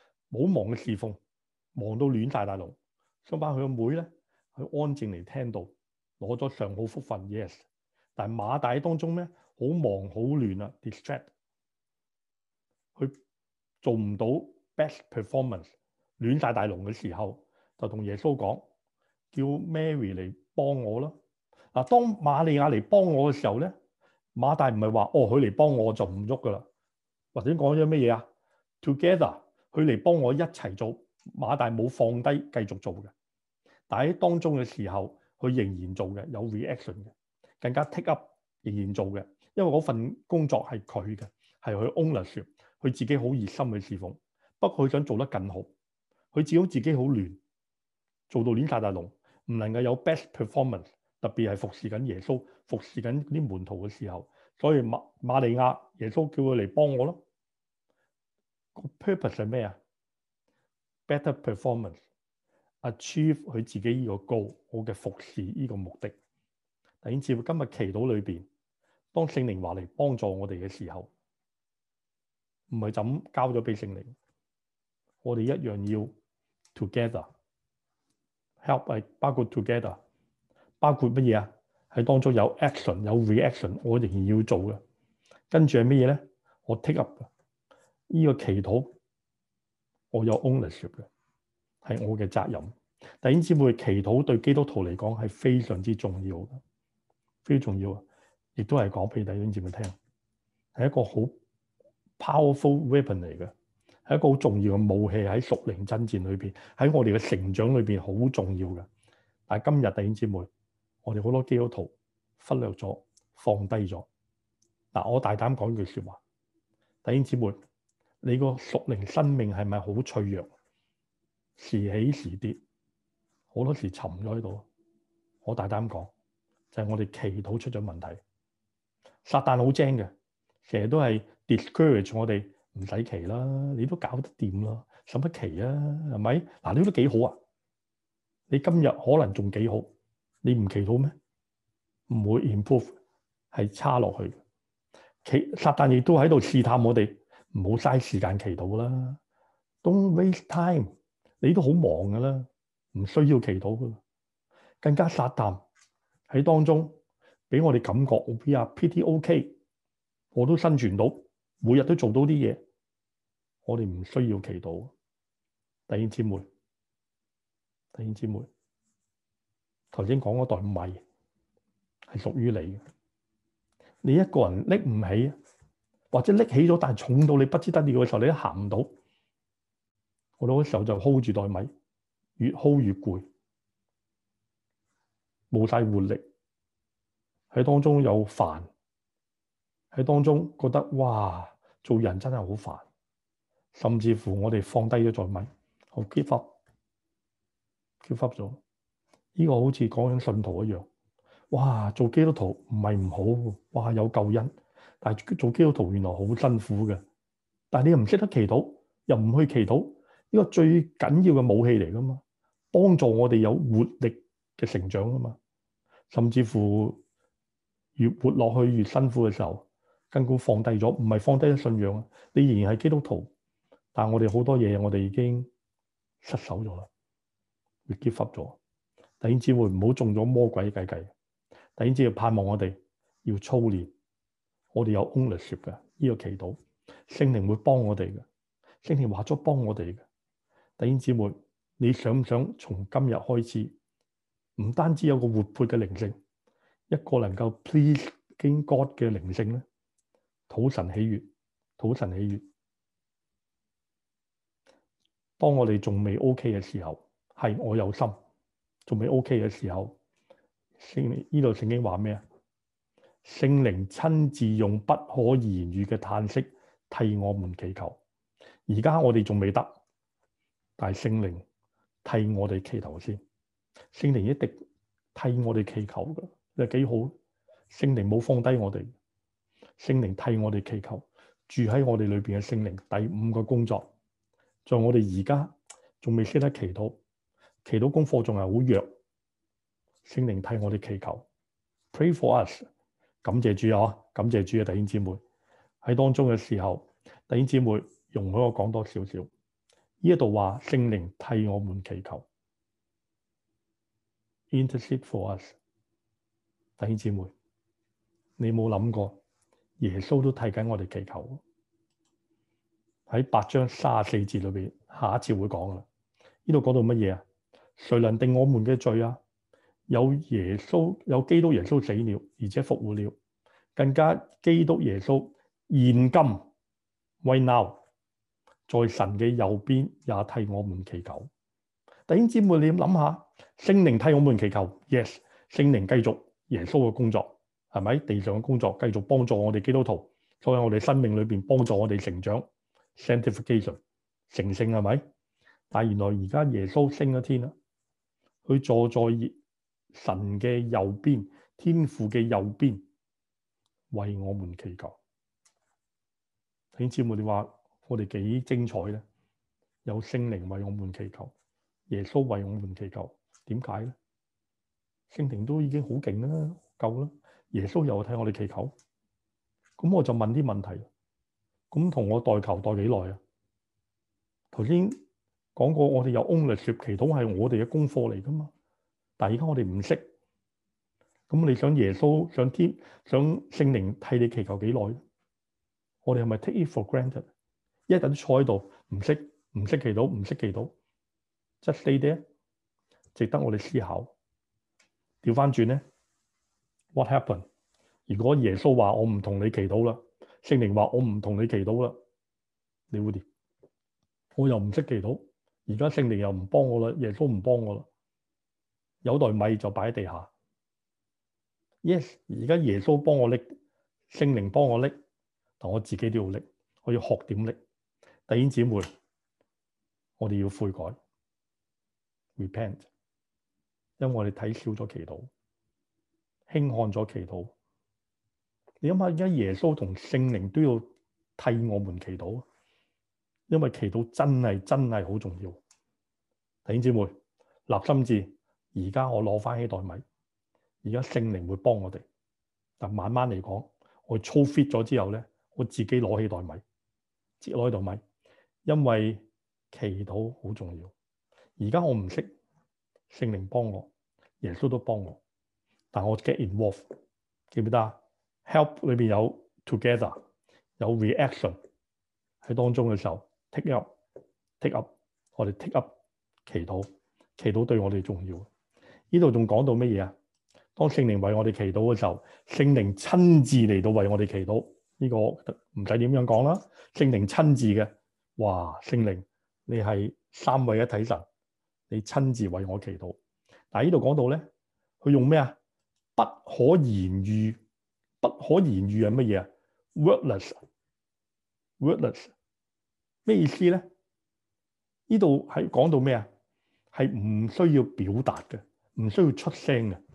A: 忙到亂晒大龍。相反佢個妹咧，佢安靜嚟聽到，攞咗上好福分 ，yes。但係馬大喺當中咩？好忙好亂啊 ，distract， 佢做唔到 best performance， 亂晒大龍嘅時候，就同耶穌講，叫 Mary 嚟幫我咯。嗱，當瑪利亞嚟幫我嘅時候咧，馬大唔係話佢嚟幫我就唔喐噶啦，或者講咗咩嘢啊 ？Together， 佢嚟幫我一齊做，馬大冇放低繼續做嘅。但喺當中嘅時候，佢仍然做嘅，有 reaction 嘅，更加 take up， 仍然做嘅，因為嗰份工作係佢嘅，係佢 ownership， 佢自己好熱心去侍奉。不過佢想做得更好，佢自己好亂，做到亂晒大龍，唔能夠有 best performance。特別係服侍緊耶穌、服侍緊啲門徒嘅時候，所以瑪利亞耶穌叫佢嚟幫我咯。個 purpose 係咩啊 ？Better performance，achieve 佢自己呢個 goal， 我嘅服侍呢個目的。弟兄姊妹，今日祈禱裏邊，當聖靈話嚟幫助我哋嘅時候，唔係就咁交咗俾聖靈，我哋一樣要 together help， 係包括 together。包括乜嘢啊？喺當中有 action 有 reaction， 我仍然要做嘅。跟住係乜嘢咧？我 take up 呢個祈禱，我有 ownership 嘅，係我嘅責任。弟兄姊妹，祈禱對基督徒嚟講係非常之重要嘅，非常重要啊！亦都係講俾弟兄姊妹聽，係一個好 powerful weapon 嚟嘅，係一個好重要嘅武器喺屬靈爭戰裏邊，喺我哋嘅成長裏邊好重要嘅。但係今日弟兄姊妹，我哋好多基督徒忽略咗、放低咗。嗱，我大膽講句説話，弟兄姊妹，你個屬靈生命係咪好脆弱？時起時跌，好多時沉咗喺度。我大膽講，就係我哋祈禱出咗問題。撒旦好精嘅，成日都係 discourage 我哋，唔使祈啦，你都搞得掂啦，使乜祈啊？係咪？嗱，你都幾好啊？你今日可能仲幾好。你唔祈禱咩？唔會 improve， 係差落去。撒旦亦都喺度試探我哋，唔好嘥時間祈禱啦。Don't waste time。 你都好忙噶啦，唔需要祈禱噶啦。更加撒旦喺當中俾我哋感覺 we are pretty OK， 我都生存到，每日都做到啲嘢，我哋唔需要祈禱。弟兄姊妹，頭先講嗰袋米係屬於你嘅，你一個人拎唔起，或者拎起咗但係重到你不知得了嘅時候，你都行唔到。我嗰時候就 hold 住袋米，越 hold 越攰，冇晒活力，喺當中有煩，喺當中覺得哇，做人真係好煩，甚至乎我哋放低咗袋米，我 give up 咗。呢個好似講緊信徒一樣，哇！做基督徒唔係唔好，哇！有救恩，但係做基督徒原來好辛苦嘅。但係你又唔識得祈禱，又唔去祈禱，呢個最緊要嘅武器嚟噶嘛，幫助我哋有活力嘅成長啊嘛。甚至乎越活落去越辛苦嘅時候，根本放低咗，唔係放低咗信仰啊，你仍然係基督徒，但係我哋好多嘢我哋已經失手咗啦，會 give up 咗。弟兄姊妹唔好中咗魔鬼嘅計。弟兄姊妹盼望我哋要操練，我哋有 ownership 嘅呢個祈禱，聖靈會幫我哋嘅，聖靈話咗幫我哋嘅。弟兄姊妹，你想唔想從今日開始，唔單止有個活潑嘅靈性，一個能夠 pleasing God 嘅靈性咧，討神喜悅。當我哋仲未 OK 嘅時候，係我有心。仲未 OK 嘅時候，呢度聖經話咩啊？聖靈親自用不可言喻嘅嘆息替我們祈求。而家我哋仲未得，但係聖靈替我哋祈求先。聖靈一定替我哋祈求嘅，你幾好？聖靈冇放低我哋，聖靈替我哋祈求，住喺我哋裏邊嘅聖靈。第五個工作，在我哋而家仲未識得祈禱。祈禱功課仲係好弱，聖靈替我哋祈求 ，pray for us， 感謝主啊，感謝主啊，弟兄姊妹喺當中嘅時候，弟兄姊妹容許我講多少少，呢一度話聖靈替我們祈求 ，intercede for us， 弟兄姊妹，你冇諗過耶穌都替緊我哋祈求，喺8章34節裏邊，下一節會講噶啦，呢度講到乜嘢啊？誰能定我們嘅罪啊？有基督耶穌死了，而且復活了，更加基督耶穌現今 right now 在神嘅右邊也替我們祈求。弟兄姊妹，你諗下，聖靈替我們祈求 ，yes， 聖靈繼續耶穌嘅工作，係咪？地上嘅工作繼續幫助我哋基督徒，所以我哋生命裏邊幫助我哋成長 ，sanctification 成聖係咪？但係原來而家耶穌升咗天啦。佢坐在神嘅右邊，天父嘅右邊，為我們祈求。弟兄姊妹，你話我哋幾精彩咧？有聖靈為我們祈求，耶穌為我們祈求，點解咧？聖靈都已經好勁啦，夠啦。耶穌又替我哋祈求，咁我就問啲問題。咁同我代求代幾耐啊？頭先講過，我哋有 ownership， 祈禱係我哋嘅功課嚟噶嘛。但係而家我哋唔識，咁你想耶穌、想聖靈替你祈求幾耐？我哋係咪 take it for granted？ 一日都坐喺度，唔識祈禱，just stay there， 值得我哋思考。調翻轉咧 ，what happened？ 如果耶穌話我唔同你祈禱啦，聖靈話我唔同你祈禱啦，你會點？我又唔識祈禱，而家聖靈又唔幫我啦，耶穌唔幫我啦，有袋米就擺喺地下。Yes， 而家耶穌幫我拎，聖靈幫我拎，但我自己都要拎，我要學點拎。弟兄姊妹，我哋要悔改 ，repent， 因為我哋睇少咗祈禱，輕看咗祈禱。你諗下，而家耶穌同聖靈都要替我們祈禱，因為祈禱真係好重要。弟兄姊妹，立心志，而家我攞翻起袋米，而家聖靈會幫我哋。但慢慢嚟講，我操 fit 咗之後咧，我自己攞起袋米，自己攞起袋米，因為祈禱好重要。 而家我唔識，聖靈幫我，耶穌都幫我，但我 get involved，記唔記得啊？Help 裏邊有 together，有 reaction 喺當中嘅時候 take up，我哋 take up 祈禱，祈禱對我哋重要。呢度仲講到乜嘢啊？當聖靈為我哋祈禱嘅時候，聖靈親自嚟到為我哋祈禱，呢個唔使點樣講啦。聖靈親自嘅，哇！聖靈你係三位一體神，你親自為我祈禱。但係呢度講到咧，佢用咩啊？不可言喻，不可言喻係乜嘢啊？wordless 咩意思咧？呢度係講到咩啊？係唔需要表達嘅，唔需要出聲嘅。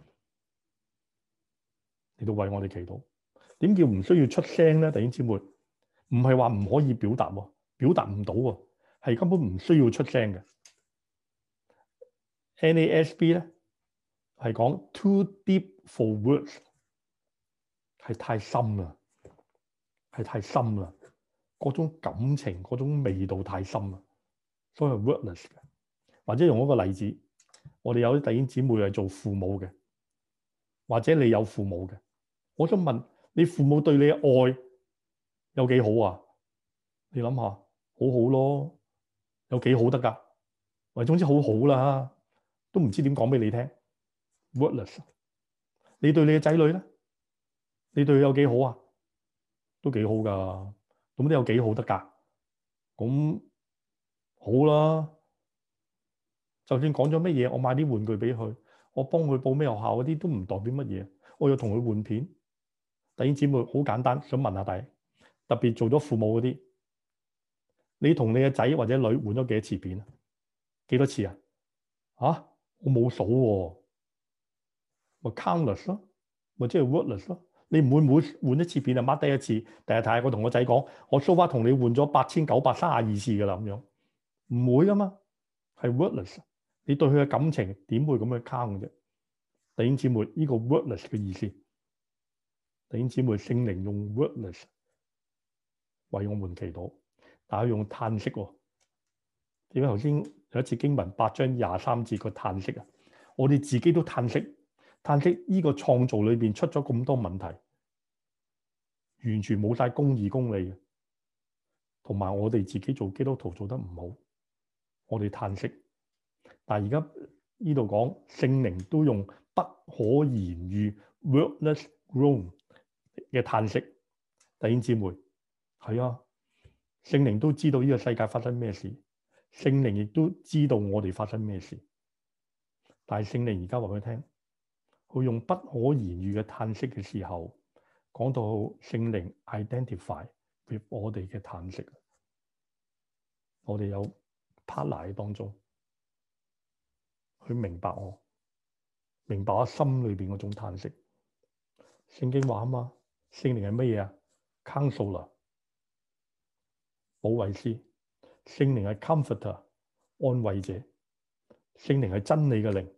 A: 嚟到為我哋祈禱，點叫唔需要出聲咧？弟兄姊妹，唔係話唔可以表達喎，表達唔到喎，係根本唔需要出聲嘅。NASB 咧係講 too deep for words， 係太深啦，係太深啦，嗰種感情嗰種味道太深啦，所以係 wordless 嘅。或者用一個例子，我哋有啲弟兄姊妹係做父母嘅，或者你有父母嘅。我想問你父母對你嘅愛有幾好啊？你諗下，好好咯，有幾好得㗎？或者總之好好啦，都唔知點講俾你聽。Wordless。你對你嘅仔女咧，你對佢有幾好啊？都幾好㗎，咁都有幾好得㗎？咁好啦，就算講咗乜嘢，我買啲玩具俾佢，我幫佢報咩學校嗰啲都唔代表乜嘢。我要同佢換片。弟兄姊妹，好簡單，想問下大家，特別做咗父母嗰啲，你同你嘅仔或者女換咗幾多次片啊？幾多次啊？嚇，我冇數喎，咪 countless 咯，咪即係 wordless 咯。你唔會每換一次片就 mark 低一次，第日睇我同我仔講，我 so far 同你換咗8932次㗎啦，咁樣唔會㗎嘛，係 wordless。你對佢嘅感情點會咁樣 count 啫？弟兄姊妹，呢個 wordless 嘅意思。弟兄姊妹，聖靈用 wordless 為我們祈禱，但係用嘆息喎。點解頭先有一次經文8章23節個嘆息啊？我哋自己都嘆息，嘆息呢個創造裏邊出咗咁多問題，完全冇晒公義公理嘅，同埋我哋自己做基督徒做得唔好，我哋嘆息。但係而家呢度講聖靈都用不可言喻 wordless groan 嘅嘆息。弟兄姊妹，係啊，聖靈都知道呢個世界發生咩事，聖靈亦都知道我哋發生咩事。但係聖靈而家話俾佢聽，佢用不可言喻嘅嘆息嘅時候，講到聖靈 identify with 我哋嘅嘆息。我哋有 partner 喺當中，佢明白我，明白我心裏邊嗰種嘆息。聖經話啊嘛，聖靈係乜嘢啊？Counselor 保惠師，聖靈係 comforter 安慰者，聖靈係真理嘅靈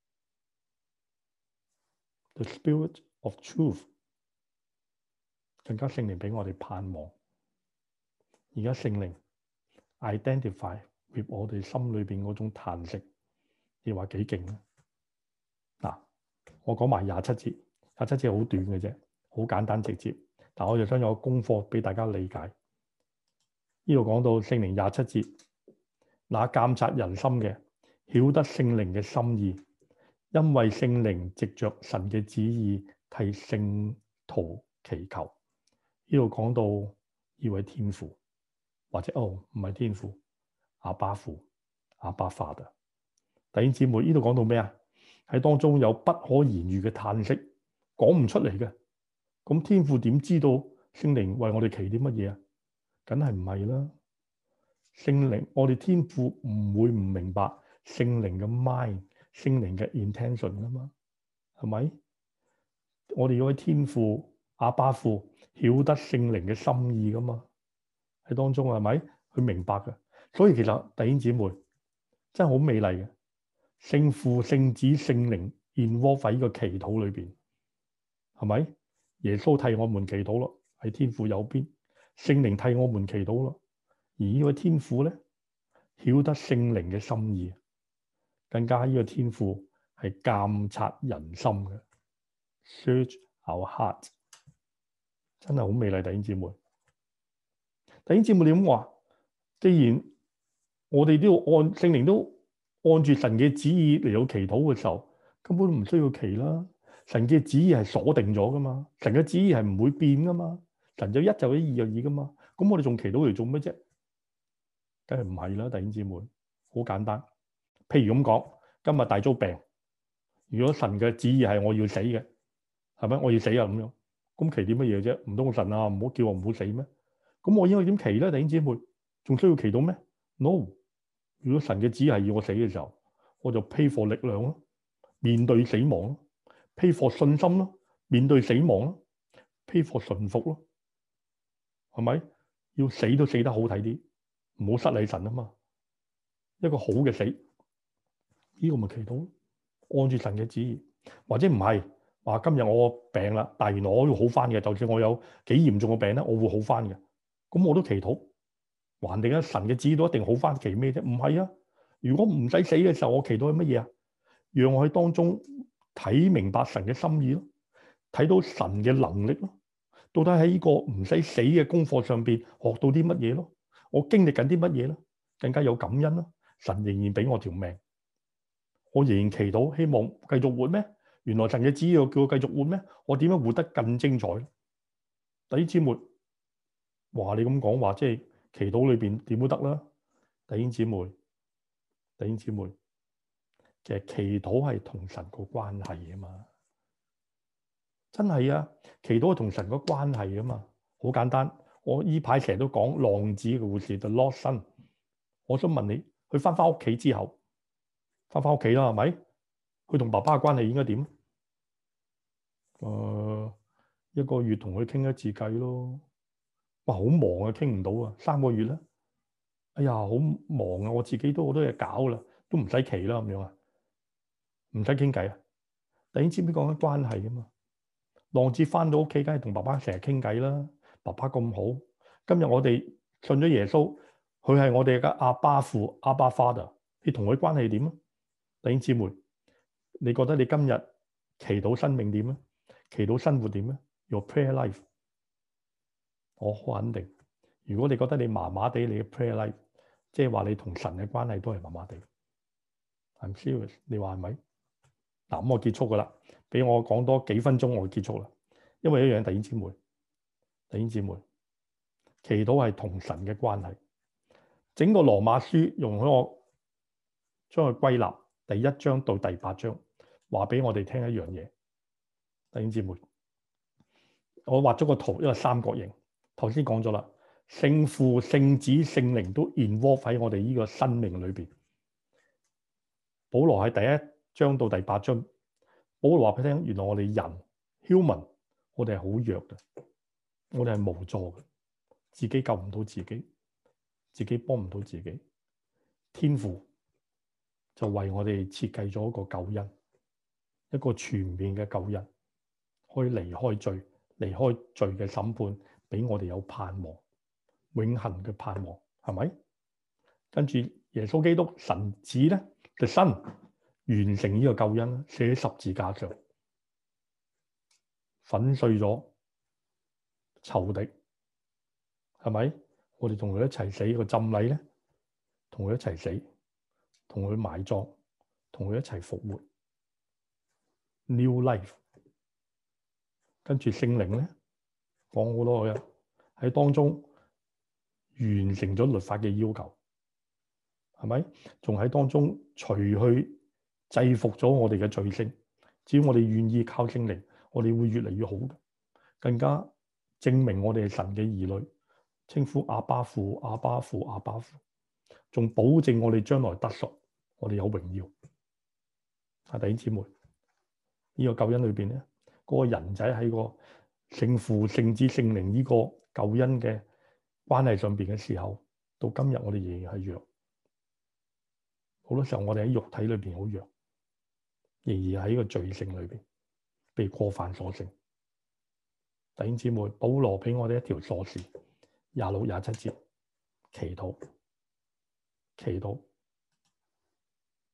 A: ，the spirit of truth， 更加聖靈俾我哋盼望。而家聖靈 identify with 我哋心裏邊嗰種嘆息，你話幾勁啊？嗱，我講埋27節，27節好短嘅啫，好簡單直接，但我就想有個功課俾大家理解。呢度講到聖靈27節，那監察人心嘅，曉得聖靈嘅心意，因為聖靈藉着神嘅旨意替聖徒祈求。呢度講到呢位天父，或者唔係天父，阿爸父，阿爸 Father。弟兄姊妹，呢度講到咩啊？喺當中有不可言喻嘅嘆息，講唔出嚟嘅。咁天父點知道聖靈為我哋祈啲乜嘢啊？梗係唔係啦。聖靈，我哋天父唔會唔明白聖靈嘅 mind， 聖靈嘅 intention 噶嘛？係咪？我哋嗰位天父阿爸父曉得聖靈嘅心意噶嘛？喺當中係咪？佢明白嘅。所以其實弟兄姊妹真係好美麗嘅。聖父、聖子、聖靈 involve 喺呢個祈禱裏邊，係咪？耶穌替我們祈禱咯，喺天父右邊；聖靈替我們祈禱咯。而呢位天父咧，曉得聖靈嘅心意， 更加呢個天父係監察人心嘅 ，search our heart， 真係好美麗，弟兄姊妹。弟兄姊妹，你咁話，既然我哋都要按聖靈都按住神嘅旨意嚟到祈禱嘅時候，根本唔需要祈啦。神嘅旨意係鎖定咗噶嘛，神嘅旨意係唔會變噶嘛，神就一就一，二就二噶嘛。咁我哋仲祈禱嚟做乜啫？梗係唔係啦，弟兄姊妹，好簡單。譬如咁講，今日大租病，如果神嘅旨意係我要死嘅，係咪？我要死啊咁樣，咁祈點乜嘢啫？唔通神啊，唔好叫我唔好死咩？咁我應該點祈咧？弟兄姊妹，仲需要祈禱咩 ？No。如果神嘅旨意係要我死嘅時候，我就 pray for 力量咯，面對死亡咯 ；pray for 信心咯，面對死亡咯；pray for 順服咯，係咪？要死都死得好睇啲，唔好失禮神啊嘛。一個好嘅死，呢個咪祈禱，按住神嘅旨意，或者唔係話今日我病啦，但係原來我要好翻嘅，就算我有幾嚴重嘅病咧，我會好翻嘅，咁我都祈禱。還定啊！神嘅旨意都一定好翻，祈咩啫？唔係啊！如果唔使死嘅時候，我祈禱係乜嘢啊？讓我喺當中睇明白神嘅心意咯，睇到神嘅能力咯。到底喺呢個唔使死嘅功課上邊學到啲乜嘢咯？我經歷緊啲乜嘢咧？更加有感恩咯。神仍然俾我條命，我仍然祈禱，希望繼續活咩？原來神嘅旨意要叫我繼續活咩？我點樣活得更精彩？弟兄姊妹，話你咁講話，即係。祈禱裏邊點都得啦，弟兄姊妹，弟兄姊妹，其實祈禱係同神個關係啊嘛，真係啊，祈禱係同神個關係啊嘛，好簡單。我呢排成日都講浪子嘅故事，The Lost Son。我想問你，佢翻屋企之後，翻屋企啦，係咪？佢同爸爸嘅關係應該點？一個月同佢傾一次偈咯。哇，好忙啊，傾唔到啊，3個月啦。哎呀，好忙啊，我自己都好多嘢搞啦，都唔使祈啦咁樣啊，唔使傾偈啊。弟兄姊妹講緊關係啊嘛，浪子翻到屋企，梗係同爸爸成日傾偈啦。爸爸咁好，今日我哋信咗耶穌，佢係我哋嘅阿爸父，阿爸 Father。你同佢關係點啊？弟兄姊妹，你覺得你今日祈禱生命點啊？祈禱生活點啊？ Your prayer life， 我好肯定。如果你覺得你麻麻地，你嘅 prayer life， 即係話你同神嘅關係都係麻麻地。I'm serious， 你話係咪？嗱，咁我結束噶啦，俾我講多幾分鐘，我就結束啦。因為一樣，弟兄姊妹，祈禱係同神嘅關係。整個羅馬書容許我將佢歸納，第1章到第8章，話俾我哋聽一樣嘢。弟兄姊妹，我畫咗個圖，一個三角形。頭先講咗啦。聖父、聖子、聖靈都 involve 喺我哋呢個生命裏邊。保羅喺第1章到第8章，保羅話俾你聽，原來我哋人 human， 我哋係好弱嘅，我哋係無助嘅，自己救唔到自己，自己幫唔到自己。天父就為我哋設計咗一個救恩，一個全面嘅救恩，可以離開罪，離開罪嘅審判，俾我哋有盼望。永恆嘅盼望係咪？跟住耶穌基督神子咧嘅身完成呢個救恩，寫喺十字架上，粉碎咗仇敵，係咪？我哋同佢一齊死，個浸禮咧，同佢一齊死，同佢埋葬，同佢一齊復活 ，New life。跟住聖靈咧，講好多嘅喺當中。完成咗律法嘅要求，係咪？仲喺當中除去制服咗我哋嘅罪性。只要我哋願意靠聖靈，我哋會越嚟越好嘅，更加證明我哋係神嘅兒女，稱呼阿爸父、阿爸父、阿爸父，仲保證我哋將來得贖，我哋有榮耀。弟兄姊妹，呢個救恩裏邊咧，嗰個人仔喺個聖父、聖子、聖靈呢個救恩嘅關係上邊嘅時候，到今日我哋仍然係弱。好多時候我哋喺肉體裏邊好弱，仍然喺個罪性裏邊被過犯所勝。弟兄姊妹，保羅俾我哋一條鎖匙，26、27節，祈禱，祈禱。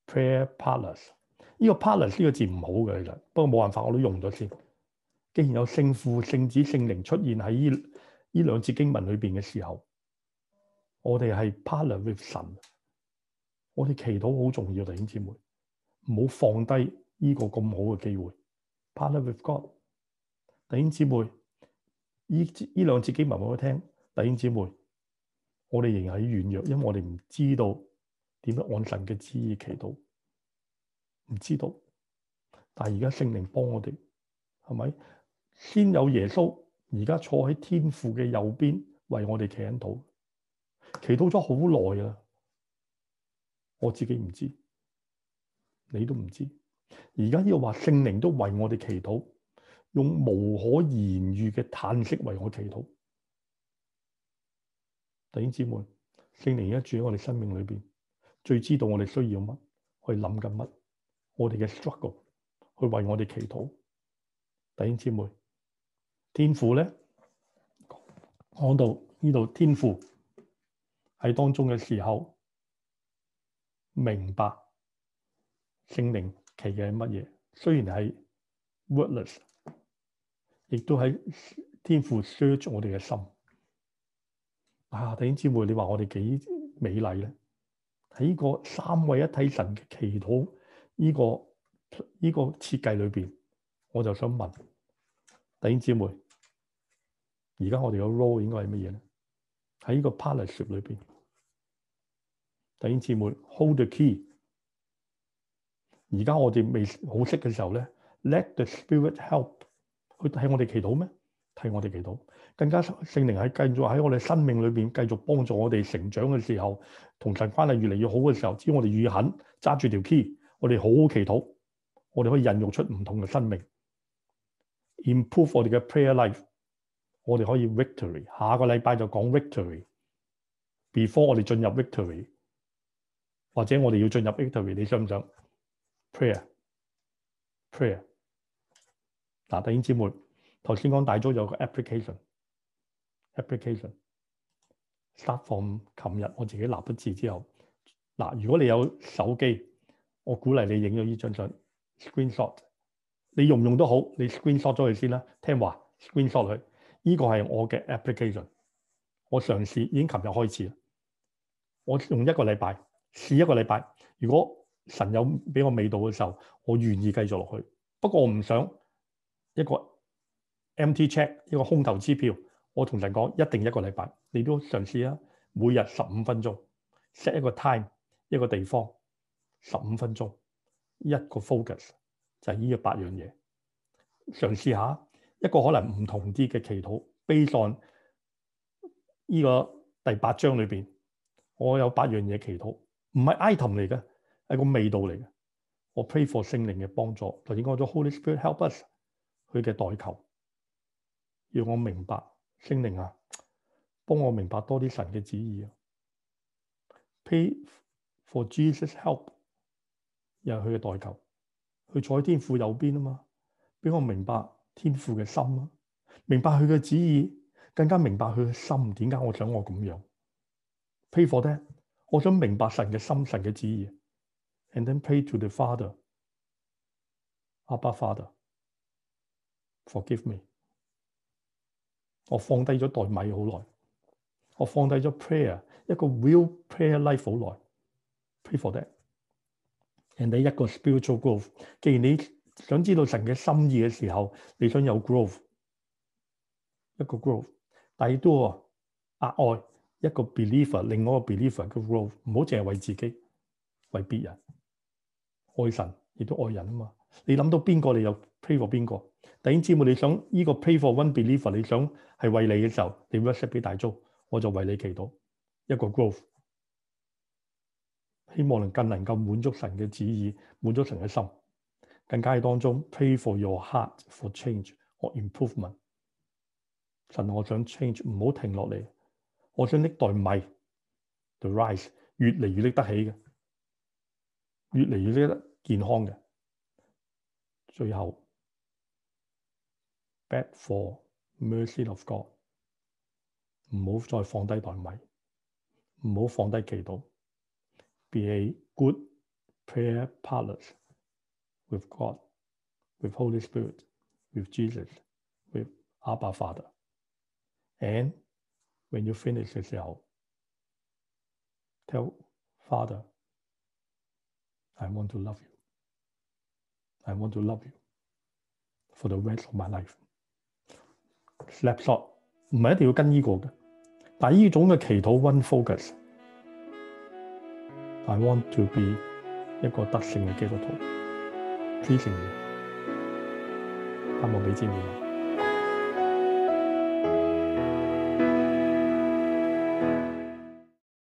A: prayer palace。呢個 palace 呢個字唔好嘅，其實不過冇辦法，我都用咗先。既然有聖父、聖子、聖靈出現喺呢兩節經文裏邊嘅時候，我哋係 partner with 神。我哋祈禱好重要，弟兄姊妹，唔好放低呢個咁好嘅機會。partner with God， 弟兄姊妹，呢兩節經文我聽，弟兄姊妹，我哋仍然喺軟弱，因為我哋唔知道點樣按神嘅旨意祈禱，唔知道。但係而家聖靈幫我哋，係咪？先有耶穌，而家坐喺天父嘅右邊，為我哋祈緊禱，祈禱咗好耐啦。我自己唔知，你都唔知。而家呢個話聖靈都為我哋祈禱，用無可言喻嘅嘆息為我祈禱。弟兄姊妹，聖靈而家住喺我哋生命裏邊，最知道我哋需要乜，去諗緊乜，我哋嘅 struggle， 去為我哋祈禱。弟兄姊妹，天父咧講到呢度，天父喺當中嘅時候，明白聖靈祈嘅係乜嘢，雖然係 wordless， 亦都喺天父 search 我哋嘅心。弟兄姊妹，你話我哋幾美麗咧？喺呢個三位一體神嘅祈禱呢個設計裏邊，我就想問弟兄姊妹，而家我哋嘅 role 應該係乜嘢咧？喺呢個 partnership 裏邊，弟兄姊妹 hold the key。而家我哋未好識嘅時候咧 ，let the Spirit help 去替我哋祈禱咩？替我哋祈禱，更加聖靈喺繼續喺我哋生命裏邊繼續幫助我哋成長嘅時候，同神關係越嚟越好嘅時候，只要我哋願意肯揸住條 key， 我哋好好祈禱，我哋可以孕育出唔同嘅生命 ，improve 我哋嘅 prayer life， 我哋可以 victory。下個禮拜就講 victory。Before 我哋進入 victory， 或者我哋要進入 victory， 你想唔想 prayer？ 嗱，弟兄姊妹。頭先講大咗有個 application start from 琴日我自己立咗字之後，嗱，如果你有手機，我鼓勵你影咗呢張相 screenshot， 你用唔用都好，你 screenshot 咗佢先啦。聽話 screenshot 佢，呢個係我嘅 application， 我嘗試已經琴日開始啦，我用一個禮拜試一個禮拜，如果神有俾我味道嘅時候，我願意繼續落去。不過我唔想一個empty check， 一個空頭支票，我同神講一定一個禮拜，你都嘗試啊，每日15分鐘 set 一個 time， 一個地方15分鐘，一個 focus 就係呢個8樣嘢，嘗試下一個可能唔同啲嘅祈禱。based on 呢個第8章裏邊，我有8樣嘢祈禱，唔係 item 嚟嘅，係個味道嚟嘅。我 pray for 聖靈嘅幫助，頭先講咗 Holy Spirit help us， 佢嘅代求。讓我明白聖靈啊，幫我明白多啲神嘅旨意啊。Pray for Jesus help， 又係佢嘅代求，佢坐喺天父右邊啊嘛，俾我明白天父嘅心啊，明白佢嘅旨意，更加明白佢嘅心。點解我想我咁樣 ？Pray for that， 我想明白神嘅心、神嘅旨意。And then pray to the Father， Abba Father，forgive me。我放低咗袋米好耐，我放低咗 prayer， 一個 real prayer life 好耐。Pray for that。and 你一個 spiritual growth。既然你想知道神嘅心意嘅時候，你想有 growth， 一個 growth， 但係都額外一個 believer， 另外一個 believer 嘅 growth， 唔好淨係為自己，為別人，愛神亦都愛人啊嘛。你諗到邊個，你就 pray for 邊個。弟兄姊妹，你想呢個 pray for one believer， 你想係為你嘅時候，你 WhatsApp 俾大租，我就為你祈禱一個 growth， 希望更能夠滿足神嘅旨意，滿足神嘅心。更加喺當中 pray for your heart for change or improvement。神，我想 change， 唔好停落嚟，我想拎袋米 the rice 越嚟越拎得起嘅，越嚟越拎得健康嘅。最後 beg for mercy of God， 唔好再放低袋米，唔好放低祈禱。Be a good prayer parlors with God, with Holy Spirit, with Jesus, with Abba Father. And when you finish 嘅時候 ，tell Father, I want to love you. I want to love you for the rest of my life. Snapshot 唔係一定要跟呢個嘅，但係呢種嘅祈禱 one focus. I want to be 一個得勝嘅基督徒，支持你，盼望俾支持你。